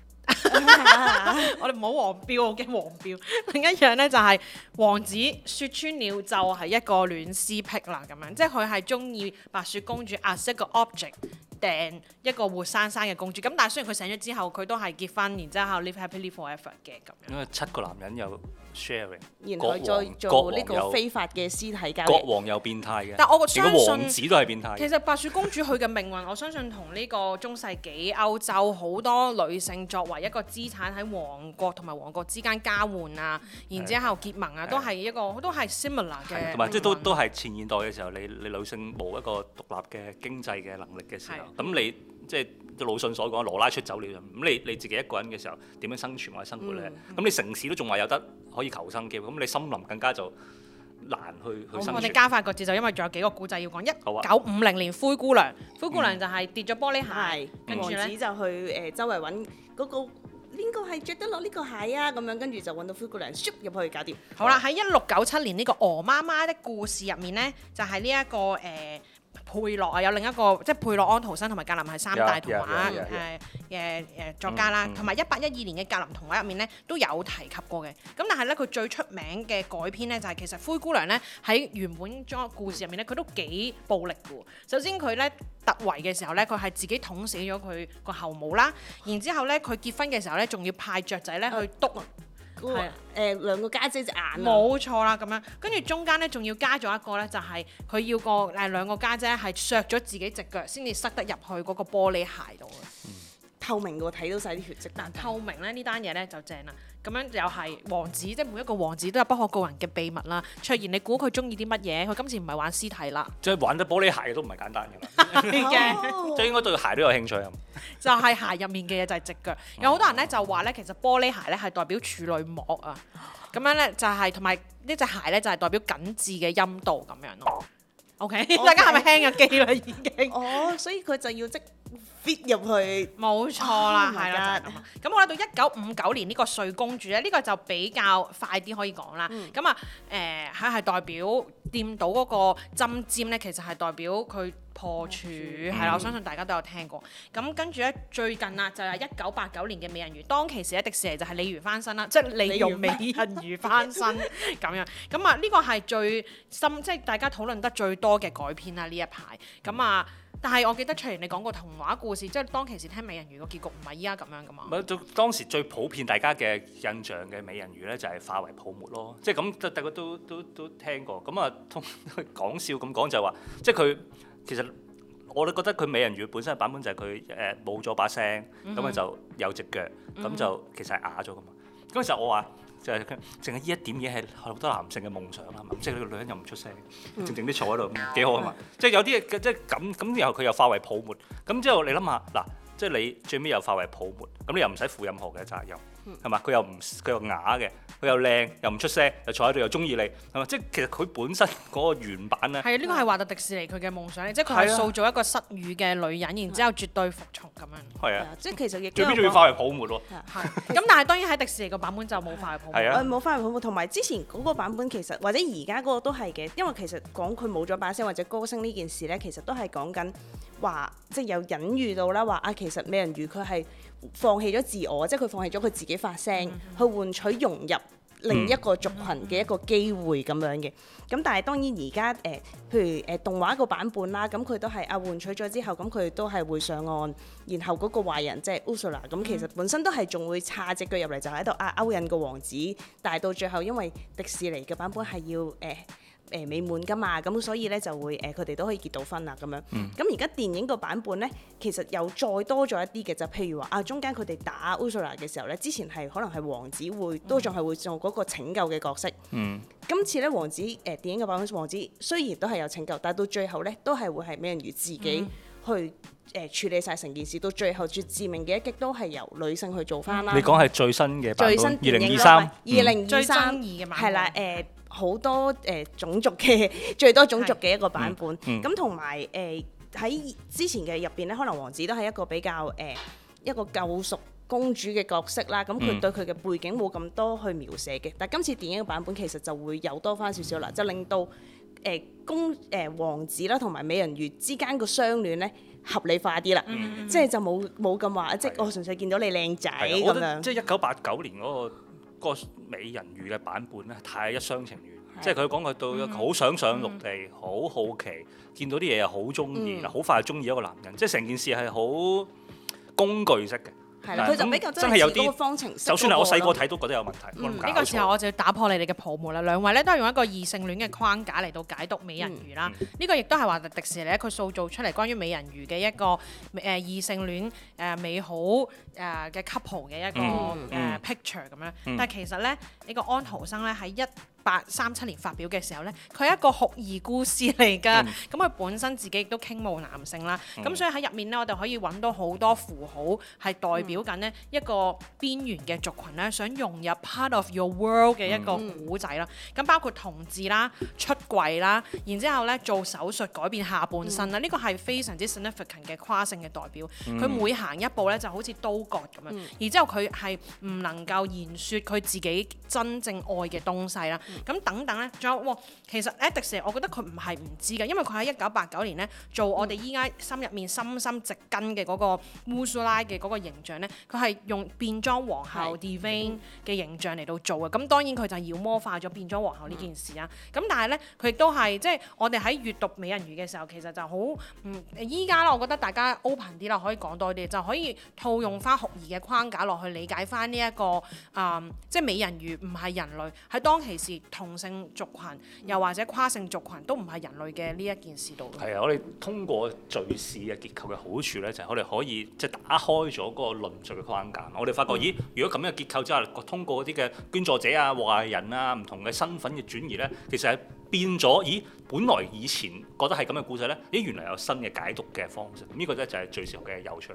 B: 我哋唔好黃標，我驚黃標。另一樣咧就係、是、王子説穿了就係一個戀屍癖啦，咁樣即係佢係中意白雪公主 as 一個 object 訂一個活生生嘅公主。咁但係雖然佢醒咗之後，佢都係結婚，然之後 live happily forever 嘅咁樣。
A: 因為七個男人有 sharing，
C: 然後再做呢個非法嘅屍體交易。
A: 國王又變態嘅，
B: 但我相信
A: 王子都係變態。
B: 其實白雪公主佢嘅命運，我相信同呢個中世紀歐洲好多女性作為一個資產喺王國同埋王國之間交換啊，然之後結盟啊，都係一個都係 similar 嘅。
A: 同埋即係都都係前現代嘅時候，你你女性冇一個獨立嘅經濟嘅能力嘅時候， 咁你即係魯迅所講羅拉出走了，咁你你自己一個人嘅時候點樣生存或者生活咧？咁、嗯、你城市都仲話有得可以求生嘅，咁你森林更加就難去去生存。
B: 我哋加快個節奏，因為仲有幾個古仔要講。一
A: 啊
B: 九五零年灰姑娘，灰姑娘就係跌咗玻璃鞋，跟住
C: 王子
B: 咧
C: 就去誒、呃、周圍揾嗰個邊個係着得落呢個鞋啊咁樣，跟住就揾到灰姑娘，唰入去搞掂。
B: 好啦，喺一六九七年呢、這個《鵝媽媽的故事》入面咧，就係呢一個誒。呃佩洛啊，有另一個即係佩洛安徒生同埋格林係三大童話誒嘅誒作家啦，同埋一八一二年嘅格林童話入面咧都有提及過嘅。咁但係咧佢最出名嘅改編咧就係、是、其實灰姑娘咧喺原本裝故事入面咧佢都幾暴力嘅。首先佢咧突圍嘅時候咧佢係自己捅死咗佢個後母啦，然之後咧佢結婚嘅時候咧仲要派雀仔咧去篤。
C: 係誒兩個家姐隻眼
B: 冇錯啦，咁樣跟住中間咧仲要加咗一個咧，就係、是、佢要個誒兩個家姐係削咗自己隻腳先至塞得入去嗰個玻璃鞋度嘅。
C: 嗯、透明嘅喎，睇到晒啲血跡。
B: 但透明咧呢單嘢咧就正啦。咁樣又係王子，即係每一個王子都有不可告人嘅秘密啦。卓然，你估佢中意啲乜嘢？佢今次唔係玩屍體啦，
A: 即係玩得玻璃鞋都唔係簡單㗎嘛。
B: 嘅，
A: 即係應該對鞋都有興趣啊。
B: 就係鞋入面嘅嘢就係隻腳。有好多人咧就話咧，其實玻璃鞋咧係代表處女膜啊。咁樣咧就係同埋呢隻鞋咧就係代表緊緻嘅陰道咁樣咯。OK， 大家係咪輕咗機啦已經？
C: 哦，所以佢就要即 fit 入去。
B: 冇錯啦，係啦、oh，咁我嚟到一九五九年呢個睡公主咧，呢、呢個就比較快啲可以講啦。咁啊誒，佢係代表掂到嗰個針尖咧，其實係代表佢破處，係啦、嗯，我相信大家都有聽過。咁跟住咧，最近啊，就係一九八九年嘅美人魚，當其時喺迪士尼就係鯉魚翻身啦，即係利用美人魚翻身咁樣。咁啊，呢個係最深，即係大家討論得最多嘅改編啦呢一排。咁啊，但係我記得卓然你講過童話故事，即係當其時聽美人魚個結局唔係依家咁樣噶嘛？
A: 咪就當時最普遍大家嘅印象嘅美人魚咧，就係化為泡沫咯。即係咁，大家都都都聽過。咁啊，通講笑咁講就係話，即係佢。其實我都覺得佢美人魚本身嘅版本就係佢誒冇咗把聲，咁啊、mm hmm. 就有隻腳，咁、mm hmm. 就其實係啞咗噶嘛。嗰陣時候我話就係淨係呢一點嘢係好多男性嘅夢想啊嘛，即係呢個女人又唔出聲，靜靜啲坐喺度幾好啊嘛。即係有啲嘢即係咁咁，然後佢又化為泡沫，咁之後你諗下嗱，即係你最尾又化為泡沫，咁你又唔使負任何嘅責任。係嘛？佢又唔佢又啞嘅，佢又靚，又唔出聲，又坐喺度又中意你，係嘛？即係其實佢本身嗰個原版咧，係啊，
B: 呢個係華特迪士尼佢嘅夢想，即係佢係塑造一個失語嘅女人，然之後絕對服從咁樣。
A: 係啊，
C: 即係其實亦
A: 最尾仲要化為泡沫喎。
B: 係。咁但係當然喺迪士尼個版本就冇化為泡沫。
A: 係啊，
C: 冇化為泡沫，同埋之前嗰個版本其實或者而家嗰個都係嘅，因為其實講佢冇咗把聲或者歌聲呢件事咧，其實都係講緊話，即係有隱喻到啦，話啊其實美人魚佢係放棄咗自我，即係佢放棄咗佢自己發聲，嗯、去換取融入另一個族群嘅一個機會咁樣嘅。咁但係當然而家誒，譬如誒、呃、動畫個版本啦，咁佢都係啊換取咗之後，咁佢都係會上岸，然後嗰個壞人即係 Ursula，咁其實本身都係仲會叉隻腳入嚟，就喺度啊勾引個王子，但係到最後因為迪士尼嘅版本係要誒。呃誒、呃、美滿㗎嘛，咁所以咧就會誒佢哋都可以結到婚啦咁樣。咁而家電影個版本咧，其實又再多咗一啲嘅，就譬如話啊，中間佢哋打 Ursula 嘅時候咧，之前係可能係王子會都仲係會做嗰個拯救嘅角色。
A: 嗯、
C: 今次咧王子誒、呃、電影嘅版本，王子雖然都係有拯救，但係到最後咧都係會係美人魚自己去誒、呃、處理晒成件事，到最後最致命嘅一擊都係由女性去做翻啦。
A: 你講係最新嘅版本，
C: 最新
A: 二零二三，
C: 二零二三係啦誒。好多誒、呃、種族嘅最多種族嘅一個版本，咁同埋誒喺之前嘅入邊咧，可能王子都係一個比較誒、呃、一個救贖公主嘅角色啦。咁佢、嗯、對佢嘅背景冇咁多去描寫嘅，但係今次電影嘅版本其實就會有多翻少少啦，就令到誒、呃、公誒、呃、王子啦同埋美人魚之間個相戀咧合理化啲啦，嗯、即係就冇冇咁話，即係我純粹見到你靚仔咁樣。
A: 即係一九八九年嗰、那個。個美人魚嘅版本咧，太一廂情願，的即係佢講佢到好想上陸地，好、嗯、好奇，見到啲嘢又好中意，好、嗯、快就中意一個男人，即係成件事係好工具式嘅。
C: 係啦，佢就比較
A: 真係有啲
C: 方程式，
A: 就算係我細個睇都覺得有問題。呢、
B: 嗯、個時候我就要打破你哋嘅泡沫啦。兩位咧都係用一個異性戀嘅框架嚟到解讀美人魚啦。呢、嗯、個亦都係話迪士尼咧佢塑造出嚟關於美人魚嘅一個誒、呃、異性戀誒、呃、美好誒嘅、呃、couple 嘅一個誒、嗯呃、picture 咁樣。嗯、但係其實咧呢、呢個安徒生咧喺一八三七年發表嘅時候咧，佢係一個酷兒故事嚟㗎。咁佢、嗯、本身自己亦都傾慕男性啦。咁、嗯、所以喺入面咧，我哋可以揾到好多符號係代表緊呢一個邊緣嘅族群咧，想融入 part of your world 嘅一個古仔啦。咁、嗯、包括同志啦、出櫃啦，然之後咧做手術改變下半身啦，呢、嗯、個係非常之 significant 嘅跨性嘅代表。佢、嗯、每行一步咧就好似刀割咁樣，嗯、然之後佢係唔能夠言説佢自己真正愛嘅東西啦。咁、嗯、等等咧，仲有喎，其實咧迪士尼，我覺得佢唔係唔知嘅，因為佢喺一九八九年咧做我哋依家心入面深深植根嘅嗰個烏蘇拉嘅嗰個形象咧，佢係用變裝皇后 Divine 嘅形象嚟到做嘅。咁當然佢就妖魔化咗變裝皇后呢件事啊。咁、嗯、但係咧，佢亦都係即係我哋喺閱讀美人魚嘅時候，其實就好嗯依家啦，我覺得大家 open 啲啦，可以講多啲，就可以套用翻酷兒嘅框架落去理解翻呢一個啊、嗯，即係美人魚唔係人類，喺當其時同性族群又或者跨性族群都唔係人類嘅呢一件事度。
A: 係啊，我哋通過敘事嘅結構嘅好處咧，就係、是、我哋可以即係、就是、打開咗嗰個論述嘅框架。我哋發覺，嗯、咦，如果咁樣嘅結構之下，通過嗰啲嘅捐助者啊、壞人啊、唔同嘅身份嘅轉移咧，其實係變咗。咦，本來以前覺得係咁嘅故仔咧，咦，原來有新嘅解讀嘅方式。咁呢個咧就係敘事嘅有趣。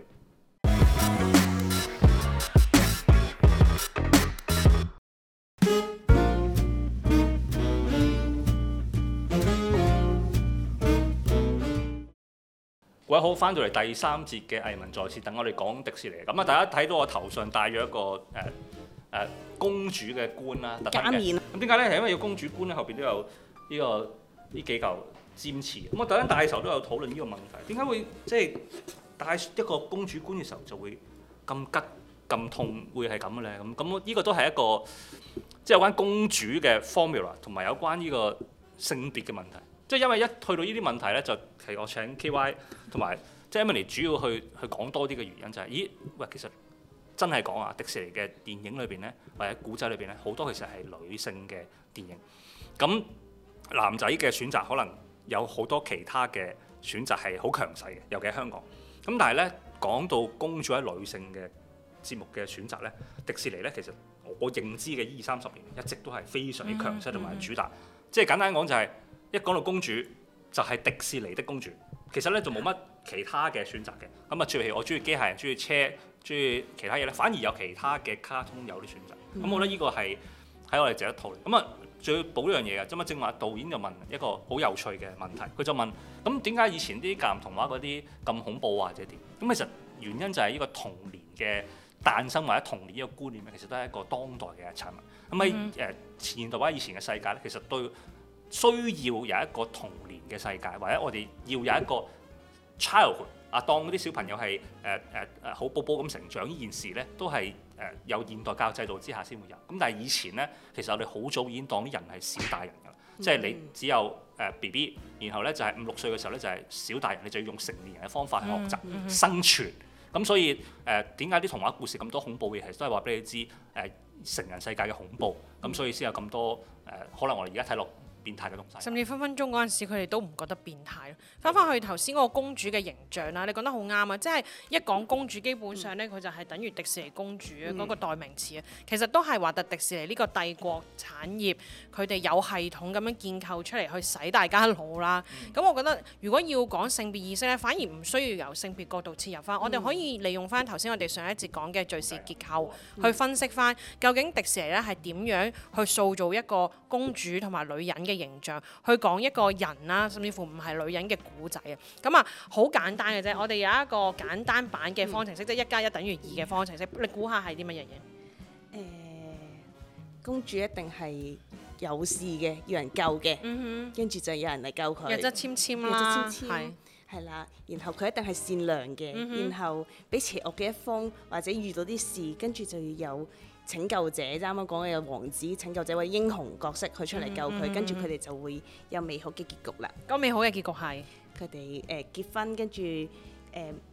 A: 各位好，翻到嚟第三節嘅藝文在線等，我哋講迪士尼。咁啊，大家睇到我頭上戴咗一個誒誒、呃呃、公主嘅冠啦，特登嘅。咁點解咧？係因為要公主冠咧，後邊都有呢、呢個呢幾嚿尖刺。咁我特登戴嘅時候都有討論呢個問題，點解會即係戴一個公主冠嘅時候就會咁吉咁痛，會係咁嘅咧？咁咁呢個都係一個即係有關公主嘅 formula， 同埋有關呢個性別嘅問題。即係因為一去到呢啲問題咧，就係我請 K Y 同埋即係 Emily 主要去去講多啲嘅原因就係、是，咦喂，其實真係講啊，迪士尼嘅電影裏邊咧，或者古仔裏邊咧，好多其實係女性嘅電影。咁男仔嘅選擇可能有好多其他嘅選擇係好強勢嘅，尤其喺香港。咁但係咧講到公主喺女性嘅節目嘅選擇咧，迪士尼咧其實我認知嘅二三十年一直都係非常之強勢同埋主打。嗯嗯、即係簡單講就係、是。一講到公主就係、是、迪士尼的公主，其實咧就冇乜其他嘅選擇嘅。咁啊，譬如我中意機械人、中意車、中意其他嘢咧，反而有其他嘅卡通有啲選擇。咁、嗯、我覺得呢個係喺我哋值得討論。咁啊，仲要補一樣嘢嘅，咁啊正話導演就問一個好有趣嘅問題，佢就問：咁點解以前啲格林童話嗰啲咁恐怖或者點？咁其實原因就係呢個童年嘅誕生或者童年呢個觀念咧，其實都係一個當代嘅產物。咁喺誒前現代或者以前嘅世界咧，其實對需要有一個童年嘅世界，或者我哋要有一個 childhood 啊，當嗰啲小朋友係誒誒誒好寶寶咁成長，呢件事咧都係誒、呃、有現代教育制度之下先會有。咁但係以前咧，其實我哋好早已經當啲人係小大人㗎啦，嗯、即係你只有誒 B B，然後咧就係五六歲嘅時候咧就係小大人，你就要用成年人嘅方法去學習、嗯嗯、生存。咁所以誒點解啲童話故事咁多恐怖嘅嘢，都係話俾你知誒、呃、成人世界嘅恐怖。咁所以先有咁多誒、呃，可能我哋而家睇落變態嘅東西，
B: 甚至分分鐘嗰陣時，佢哋都唔覺得變態咯。翻返去頭先嗰個公主嘅形象啦，你講得好啱啊！即係一講公主，基本上咧佢就係等於迪士尼公主啊嗰個代名詞啊。其實都係話特迪士尼呢個帝國產業，佢哋有系統咁樣建構出嚟去洗大家腦啦。咁、嗯、我覺得如果要講性別意識咧，反而唔需要由性別角度切入翻，嗯、我哋可以利用翻頭先我哋上一節講嘅敘事結構、嗯、去分析翻究竟迪士尼咧係點樣去塑造一個公主同埋女人嘅形象，去講一個人啦，甚至乎唔係女人嘅古仔啊。咁啊，好簡單嘅啫。我哋有一個簡單版嘅方程式，嗯、即係一加一等於二嘅方程式。你估下係啲乜嘢嘢？誒、
C: 呃，公主一定係有事嘅，要人救嘅。嗯哼。跟住就有人嚟救佢。
B: 弱質纖纖啦，係
C: 係啦。然後佢一定係善良嘅，嗯、哼然後俾邪惡嘅一方或者遇到啲事，跟住就要有拯救者，啱啱講嘅有王子拯救者或者英雄角色去出嚟救佢，跟住佢哋就會有美好嘅結局啦。
B: 個美好嘅結局係
C: 佢哋誒結婚，跟住誒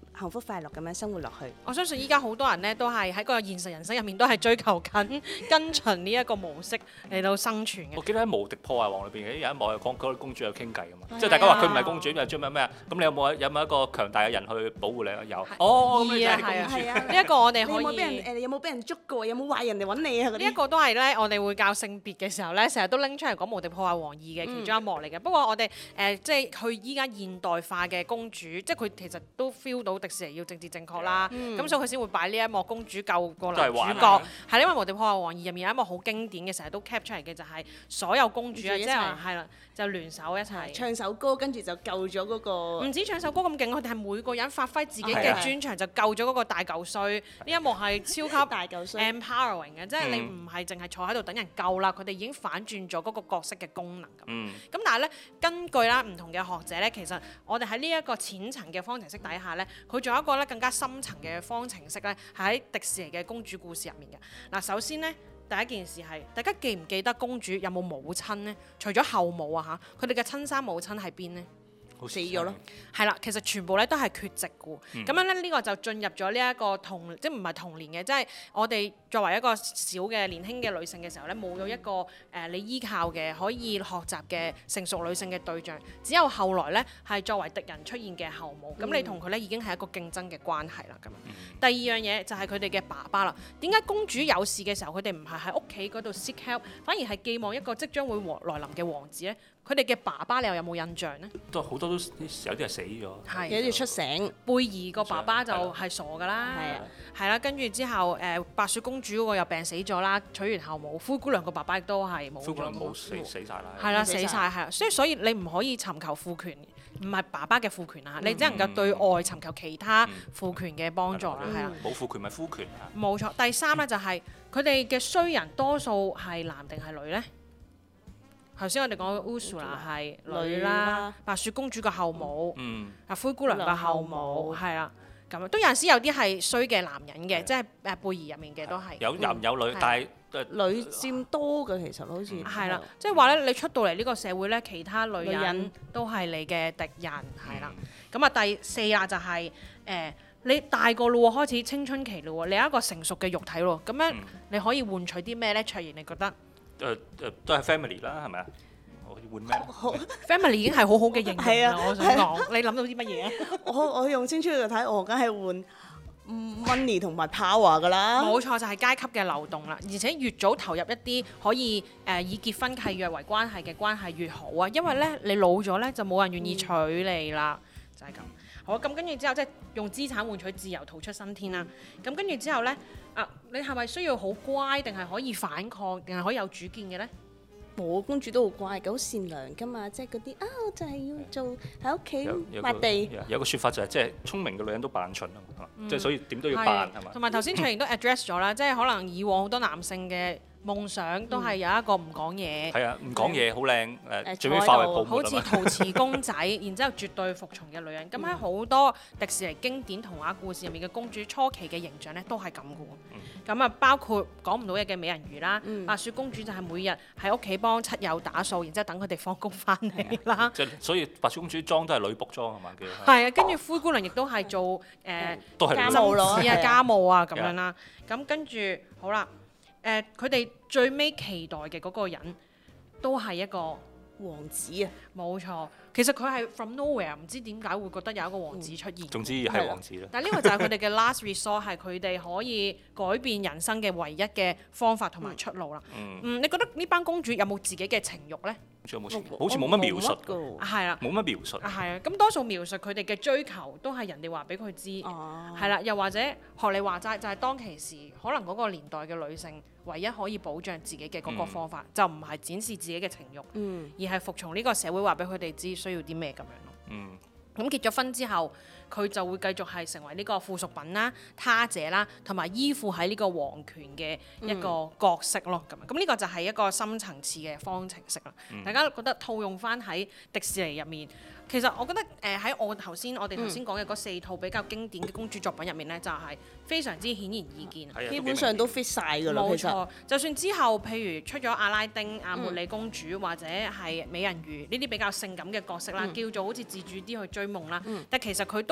C: 幸福快樂咁樣生活落去。
B: 我相信依家好多人咧都係喺個現實人生入面都係追求緊跟隨呢一個模式嚟到生存嘅。
A: 我記得喺《無敵破壞王》裏邊有一幕係講嗰個公主有傾偈噶嘛，即係大家話佢唔係公主，又追咩咩啊？咁你有冇有冇一個強大嘅人去保護你啊？有。哦，咁你就係公主。
C: 係啊，
B: 呢一個我哋
C: 你有冇
B: 可以。
C: 俾人誒？你有冇俾人捉過？有冇壞人嚟揾你啊？嗰啲
B: 呢一個都係咧，我哋會教性別嘅時候咧，成日都拎出嚟講《無敵破壞王二》嘅其中一幕嚟嘅。不過我哋誒、呃、即係佢依家現代化嘅公主，即係佢其實都 feel 到迪士尼要政治正確啦。咁、所以佢先會擺呢一幕公主救個男主角。係因為《無敵破壞王二》入面有一幕好經典嘅，成日都 cap 出嚟嘅就係所有公主啊，即係係啦，就聯手一齊
C: 唱首歌，跟住就救咗嗰個。
B: 唔止唱首歌咁勁，佢哋係每個人發揮自己嘅專長，就救咗嗰個大嚿衰。呢一幕係超級
C: 大嚿衰
B: empowering 嘅，即係你唔係淨係坐喺度等人救啦，佢哋已經反轉咗嗰個角色嘅功能咁。咁、
A: 嗯、
B: 但係咧，根據啦唔同嘅學者咧，其實我哋喺呢一個淺層嘅方程式底下咧，佢仲有一個咧更加深層嘅方程式咧，係喺迪士尼嘅公主故事入面嘅。嗱，首先咧。第一件事係，大家記唔記得公主有冇母親呢？除咗後母啊嚇，佢哋嘅親生母親喺邊呢？
C: 死咗咯。
B: 係啦，其實全部咧都係缺席嘅。咁、
A: 嗯、
B: 樣咧，呢、呢個就進入咗呢一個童，即係唔係童年嘅，即係我哋作為一個小嘅年輕嘅女性嘅時候咧，冇咗一個誒、呃、你依靠嘅可以學習嘅成熟女性嘅對象，只有後來咧係作為敵人出現嘅後母。咁、嗯、你同佢咧已經係一個競爭嘅關係啦。咁、嗯、第二樣嘢就係佢哋嘅爸爸啦。點解公主有事嘅時候，佢哋唔係喺屋企嗰度 seek help，反而係寄望一個即將會來臨嘅王子咧？佢哋嘅爸爸你又有冇印象呢？
A: 都好多都有啲係死咗，
B: 係
C: 有啲出醒。
B: 貝兒個爸爸就係傻㗎啦，
C: 係啊，
B: 係啦，跟住之後誒、呃、白雪公主嗰個又病死咗啦，娶完後母。灰姑娘個爸爸亦都係冇咗。
A: 灰姑娘冇死死曬啦。
B: 係啦，死晒係啦，所以所以你唔可以尋求父權，唔係爸爸嘅父權啊，你只能夠對外尋求其他父權嘅幫助啦，係啦。
A: 冇父權咪夫權啊。
B: 冇錯，第三咧就係佢哋嘅衰人多數係男定係女咧？頭先我哋講 Ursula 係女啦，白雪公主個後母，啊灰姑娘個後母係啦，咁都有陣時有啲係衰嘅男人嘅，即係誒貝兒入面嘅都係
A: 有男有女，但係
C: 女佔多嘅其實好似
B: 係啦，即係話咧，你出到嚟呢個社會咧，其他女人都係你嘅敵人係啦。咁啊第四啦就係誒你大個咯喎，開始青春期咯喎，你有一個成熟嘅肉體咯，咁樣你可以換取啲咩咧？卓然你覺得？
A: 誒誒都係 family 啦，係咪啊？我要換咩
B: ？family 已經係好好嘅形容啦，
C: 啊、
B: 我想講，你諗到啲乜嘢啊？
C: 我我用青春去睇，我梗係換 money 同埋 power 㗎啦。
B: 冇錯，就係、是、階級嘅流動啦，而且越早投入一啲可以誒、呃、以結婚契約為關係嘅關係越好啊，因為咧你老咗咧就冇人願意娶你啦，嗯、就係咁。好，咁跟住之後即係用資產換取自由，逃出生天啦。咁跟住之後咧。啊！你係咪需要好乖，定係可以反抗，定係可以有主見嘅咧？
C: 我公主都好乖嘅，好善良噶嘛，即係嗰啲啊，我就係要做喺屋企抹地。
A: 有個説法就係、是，即係聰明嘅女人都扮蠢啊嘛，即係、嗯、所以點都要扮係嘛。同埋
B: 頭先卓然都 address 咗啦，即係可能以往好多男性嘅夢想都係有一個唔講嘢，
A: 係啊，唔講嘢好靚誒，最尾化為泡沫
B: 好似陶瓷公仔，然之後絕對服從嘅女人。咁喺好多迪士尼經典童話故事入面嘅公主初期嘅形象咧，都係咁嘅喎。咁啊、嗯，包括講唔到嘢嘅美人魚啦，嗯、白雪公主就係每日喺屋企幫親友打掃，然之後等佢哋放工翻嚟啦。
A: 即係所以白雪公主裝都係女僕裝係嘛？
B: 係啊，跟住灰姑娘亦都係做誒、呃、
C: 家務咯，
B: 啊家務啊咁樣啦。咁跟住好啦。誒，佢哋、呃、最尾期待嘅嗰個人都係一個
C: 王子啊！
B: 冇錯，其實佢係 from nowhere，唔知點解會覺得有一個王子出現。
A: 總之係王子啦。
B: 但係呢個就係佢哋嘅 last resort，係佢哋可以改變人生嘅唯一嘅方法同埋出路啦。嗯，嗯，你覺得呢班公主有冇自己嘅情慾呢？
A: 有冇情慾？好似冇乜描述
B: 㗎。係啦，
A: 冇乜描述。
B: 係啊，咁多數描述佢哋嘅追求都係人哋話俾佢知。哦。係啦，又或者學你話齋，就係、是、當其時可能嗰個年代嘅女性唯一可以保障自己嘅嗰個方法，嗯、就唔係展示自己嘅情慾，嗯、而係服從呢個社會話俾佢哋知需要啲咩咁樣咯。嗯。咁結咗婚之後，佢就會繼續係成為呢個附屬品啦、他者啦，同埋依附喺呢個皇權嘅一個角色咯。咁咁呢個就係一個深層次嘅方程式啦。嗯、大家覺得套用翻喺迪士尼入面，其實我覺得誒喺、呃、我頭先我哋頭先講嘅嗰四套比較經典嘅公主作品入面咧，就係、是、非常之顯而易見，
A: 嗯、
C: 基本上都 fit 晒㗎啦。
B: 冇錯，就算之後譬如出咗阿拉丁、阿茉莉公主、嗯、或者係美人魚呢啲比較性感嘅角色啦，嗯、叫做好似自主啲去追夢啦，嗯、但其實佢都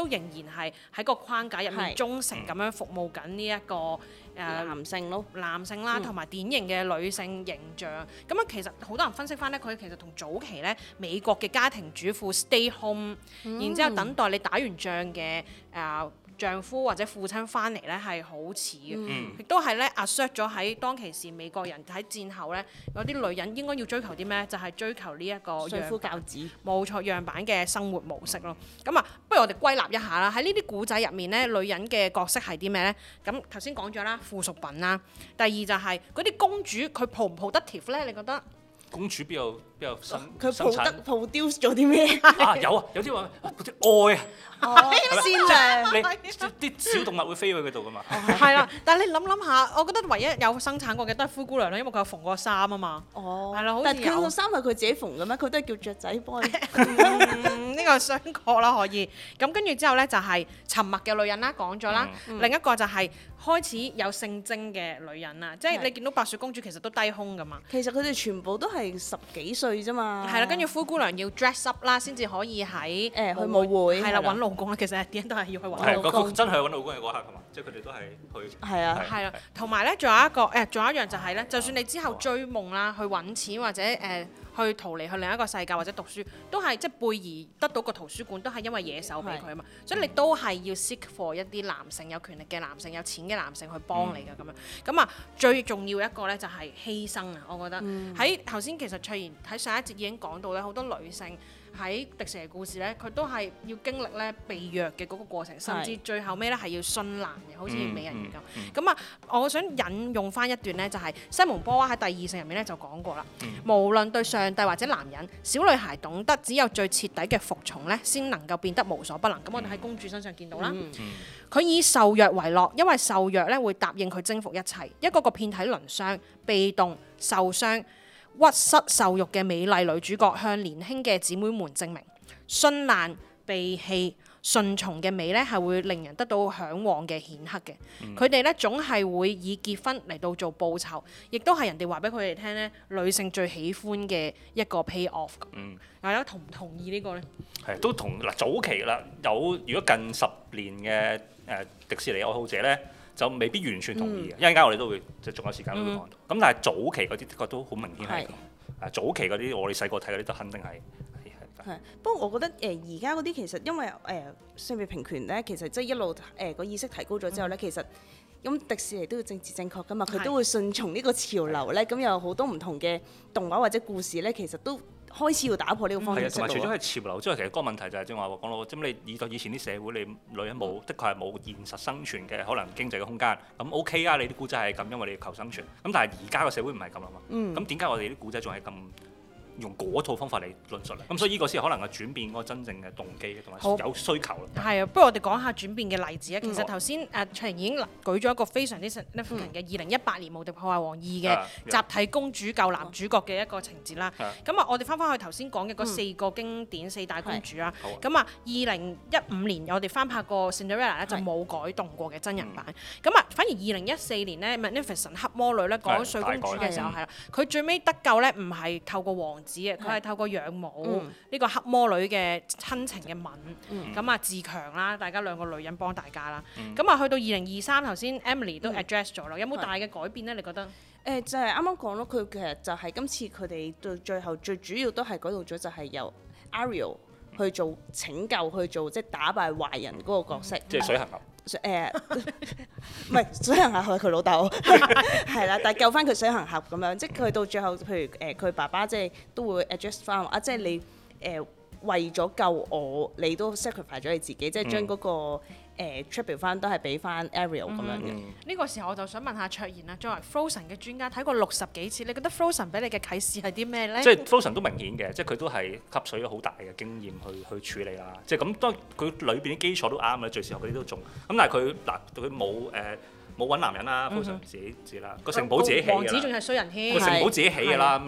B: 都仍然係喺個框架入面
C: 係
B: 忠誠咁樣服務緊呢一個誒、呃
C: 男性咯。
B: 男性啦，
C: 嗯
B: 同埋典型嘅女性形象。咁啊，其實好多人分析翻咧，佢其實同早期咧美國嘅家庭主婦 stay home，、
C: 嗯
B: 然之後等待你打完仗嘅誒、呃丈夫或者父親翻嚟咧係好似嘅，
A: 嗯
B: 亦都係咧 assert 咗喺當其時美國人喺戰後咧有啲女人應該要追求啲咩？就係、追求呢一個
C: 相夫
B: 樣板
C: 教子。
B: 冇錯樣板嘅生活模式咯。咁啊，不如我哋歸納一下啦。喺呢啲古仔入面咧，女人嘅角色係啲咩咧？咁頭先講咗啦，附屬品啦。第二就係嗰啲公主，佢抱唔抱得貼咧？你覺得？
A: 公主邊有邊有生
C: 佢
A: 生產
C: 抱得 produce 咗啲咩？
A: 啊？有啊，有啲話啊嗰啲愛啊，
C: 哦，善良。
A: 你啲小動物會飛去佢度噶嘛？
B: 係啦，但係你諗諗下，我覺得唯一有生產過嘅都係灰姑娘啦，因為佢有縫過衫啊嘛。
C: 哦，
B: 係啦好似
C: 但係佢
B: 有
C: 個衫係佢自己縫嘅咩？佢都係叫雀仔幫你。
B: 嗯，呢個雙確啦，可以。咁跟住之後咧，就係沉默嘅女人啦，講咗啦。另一個就係開始有性徵嘅女人啦，即係
C: 係
B: 你見到白雪公主其實都低胸噶嘛。
C: 其實佢哋全部都係十幾歲啫嘛。
B: 係啦，跟住灰姑娘要 dress up 啦，先至可以喺
C: 誒去舞會
B: 係啦
C: 係啦
B: 揾老公啦。其實啲人都係要去揾
A: 係嗰
B: 老公。
A: 個真係揾老公嘅嗰刻係嘛？即係佢哋都係去
C: 係啊
B: 係啦，同埋咧，仲有一個誒，仲有一樣就係咧，就算你之後追夢啦，去揾錢或者誒去逃離去另一個世界或者讀書，都係即係貝兒得到個圖書館，都係因為野獸俾佢啊嘛，所以你都係要 seek for 一啲男性有權力嘅男性、有錢嘅男性去幫你嘅咁樣。咁啊，最重要一個咧就係犧牲啊！我覺得喺頭先其實卓然喺上一節已經講到咧，好多女性喺迪士尼故事咧，佢都係要經歷咧被虐嘅嗰個過程，甚至最後尾咧係要殉難嘅，好似美人魚咁。咁啊、嗯，我想引用翻一段咧，就係、是、西蒙波娃喺第二性入面咧就講過啦。
A: 嗯、
B: 無論對上帝或者男人，小女孩懂得只有最徹底嘅服從咧，先能夠變得無所不能。咁我哋喺公主身上見到啦。佢、嗯、以受虐為樂，因為受虐咧會答應佢征服一切，一個個遍體鱗傷、被動、受傷、屈膝受辱嘅美麗女主角，向年輕嘅姊妹們證明，殉難、被棄、順從嘅美咧係會令人得到嚮往嘅顯赫嘅。佢哋咧總係會以結婚嚟到做報酬，亦都係人哋話俾佢哋聽咧，女性最喜歡嘅一個 pay off。嗯，大家同唔同意呢個咧？
A: 係都同嗱早期啦，有如果近十年嘅誒、呃、迪士尼愛好者咧，就未必完全同意嘅。一陣間我哋都會即係仲有時間都會講到。咁、嗯、但係早期嗰啲的確都好明顯係咁。啊，早期嗰啲我哋細個睇嗰啲就肯定係。
C: 係，不過我覺得誒而家嗰啲其實因為誒、呃、性別平權咧，其實即係一路誒個、呃、意識提高咗之後咧，嗯、其實咁迪士尼都要政治正確噶嘛，佢都會順從呢個潮流咧，咁有好多唔同嘅動畫或者故事咧，其實都開始要打破呢個方式。係啊，
A: 同埋除咗係潮流之外，其實個問題就係正話講到，咁你以以前啲社會，你女人冇，的確係冇現實生存嘅可能經濟嘅空間。咁 OK 啊，你啲古仔係咁，因為你要求生存。咁但係而家個社會唔係咁啊嘛。咁點解我哋啲古仔仲係咁？用嗰套方法嚟論述咧，咁所以呢個先可能係轉變嗰個真正嘅動機同埋有需求咯。係
B: 啊，不如我哋講下轉變嘅例子啊。其實頭先誒卓然已經舉咗一個非常之 significant 嘅二零一八年《無敵破壞王二》嘅集體公主救男主角嘅一個情節啦。咁啊，我哋翻返去頭先講嘅嗰四個經典四大公主啦。咁啊，二零一五年我哋翻拍過《Cinderella》咧就冇改動過嘅真人版。咁啊，反而二零一四年咧《Magnificent 黑魔女》咧講睡公主嘅時候係啦，佢最尾得救咧唔係透過王佢係透過養母呢、嗯、個黑魔女嘅親情嘅吻，咁啊、嗯、自強啦，大家兩個女人幫大家啦。咁啊、嗯、去到二零二三，頭先 Emily 都 address 咗啦，嗯、有冇大嘅改變咧？你覺得？誒、
C: 呃、就係啱啱講咯，佢其實就係今次佢哋到最後最主要都係改動咗，就係由 Ariel 去做拯救，去做即係打敗壞人嗰個角色，
A: 即係、嗯、水行俠。
C: 誒唔係水行俠係佢老豆，係啦，但係救翻佢水行俠咁樣，即係佢到最後，譬如誒佢、呃、爸爸即係都會 adjust 翻啊，即係你誒、呃、為咗救我，你都 sacrifice 咗你自己，即係將嗰個誒 tribute 翻都係俾翻 Ariel 咁樣嘅。呢、
B: 嗯、個時候我就想問下卓然啦，作為 Frozen 嘅專家，睇過六十幾次，你覺得 Frozen 俾你嘅啟示係啲咩咧？
A: 即係 Frozen 都明顯嘅，即係佢都係吸取咗好大嘅經驗去去處理啦。即係咁，當佢裏邊啲基礎都啱嘅，最時候嗰啲都中。咁但係佢嗱，佢冇誒冇揾男人啦 ，Frozen 自己自己啦，個城堡自己起嘅啦。
B: 王子仲係衰人添。
A: 個城堡自己起嘅啦，咁啊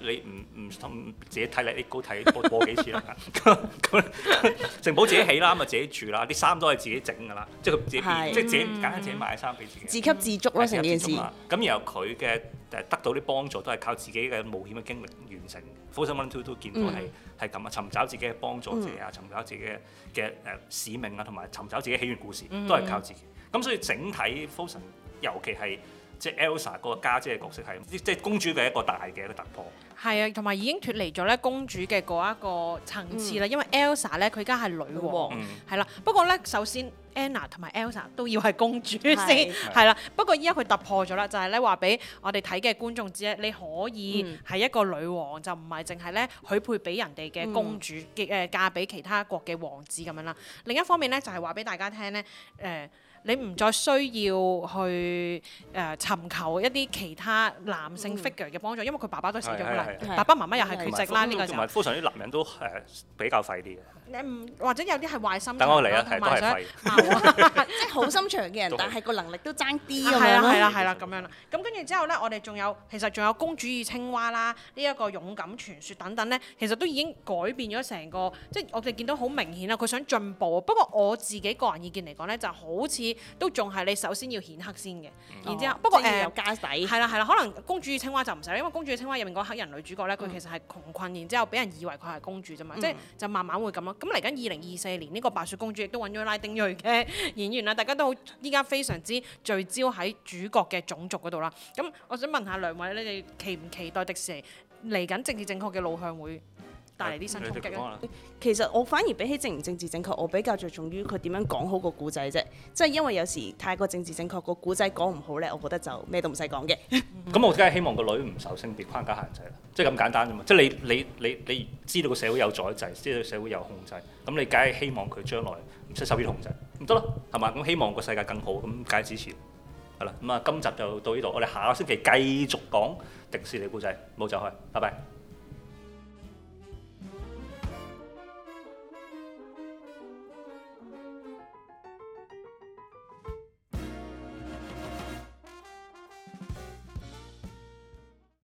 A: 你唔唔唔自己睇 Let It Go睇播播幾次啦？咁咁城堡自己起啦，咪自己住啦，啲衫都係自己整㗎啦，即係佢自己
C: 係
A: 即係自己簡單自己買衫俾自己。
C: 自給自足咯，成件事。
A: 咁然後佢嘅誒得到啲幫助都係靠自己嘅冒險嘅經歷完成。Frozen One Two都見到係係咁啊，尋找自己嘅幫助者啊，尋找自己嘅嘅誒使命啊，同埋尋找自己起源故事，都係靠自己。咁所以整體 Frozen 尤其係即係 Elsa 嗰個家姐嘅角色係即係公主嘅一個大嘅一個突破。
B: 係啊，同埋已經脫離咗咧公主嘅嗰一個層次啦，因為 Elsa 咧佢而家係女王，係啦。不過咧，首先 Anna 同埋 Elsa 都要係公主先，係啦。不過依家佢突破咗啦，就係咧話俾我哋睇嘅觀眾知咧，你可以係一個女王，就唔係淨係咧許配俾人哋嘅公主嘅誒嫁俾其他國嘅王子咁樣啦。另一方面咧，就係話俾大家聽咧，誒。你唔再需要去誒、呃、尋求一啲其他男性 figure 嘅幫助，因為佢爸爸都死咗啦，爸爸媽媽又係缺席啦，呢個時候。同埋
A: Frozen 啲男人都誒比較廢啲嘅。
B: 誒或者有啲係壞心腸，
A: 等我嚟啊，係都係廢。
C: 即係好心腸嘅人，但係個能力都爭啲咁樣咯。
B: 係啦係啦係啦咁樣啦。咁跟住之後咧，我哋仲有其實仲有公主與青蛙啦，呢一個勇敢傳說等等咧，其實都已經改變咗成個，即係我哋見到好明顯啦，佢想進步。不過我自己個人意見嚟講咧，就好似都仲係你首先要顯黑先嘅，然之後不過誒
C: 有家底
B: 係啦係啦，可能公主與青蛙就唔使，因為公主與青蛙入面嗰黑人女主角咧，佢其實係窮困，然之後俾人以為佢係公主啫嘛，即係就慢慢會咁咯。咁嚟緊二零二四年呢個白雪公主亦都揾咗拉丁裔嘅演員啦，大家都好依家非常之聚焦喺主角嘅種族嗰度啦。咁我想問下兩位，你哋期唔期待迪士尼嚟緊政治正確嘅路向會帶嚟啲新衝擊啊？
C: 其實我反而比起正唔政治正確，我比較着重於佢點樣講好個故仔啫。即係因為有時太過政治正確，個故仔講唔好咧，我覺得就咩都唔使講嘅。
A: 咁我梗係希望個女唔受性別框架限制啦，即係咁簡單啫嘛。即係你你你你知道個社會有宰制，知道個社會有控制，咁你梗係希望佢將來唔使受呢啲控制，咁得咯，係嘛？咁希望個世界更好，咁梗係支持。係啦，咁啊，今集就到呢度，我哋下個星期繼續講迪士尼故仔，冇走開，拜拜。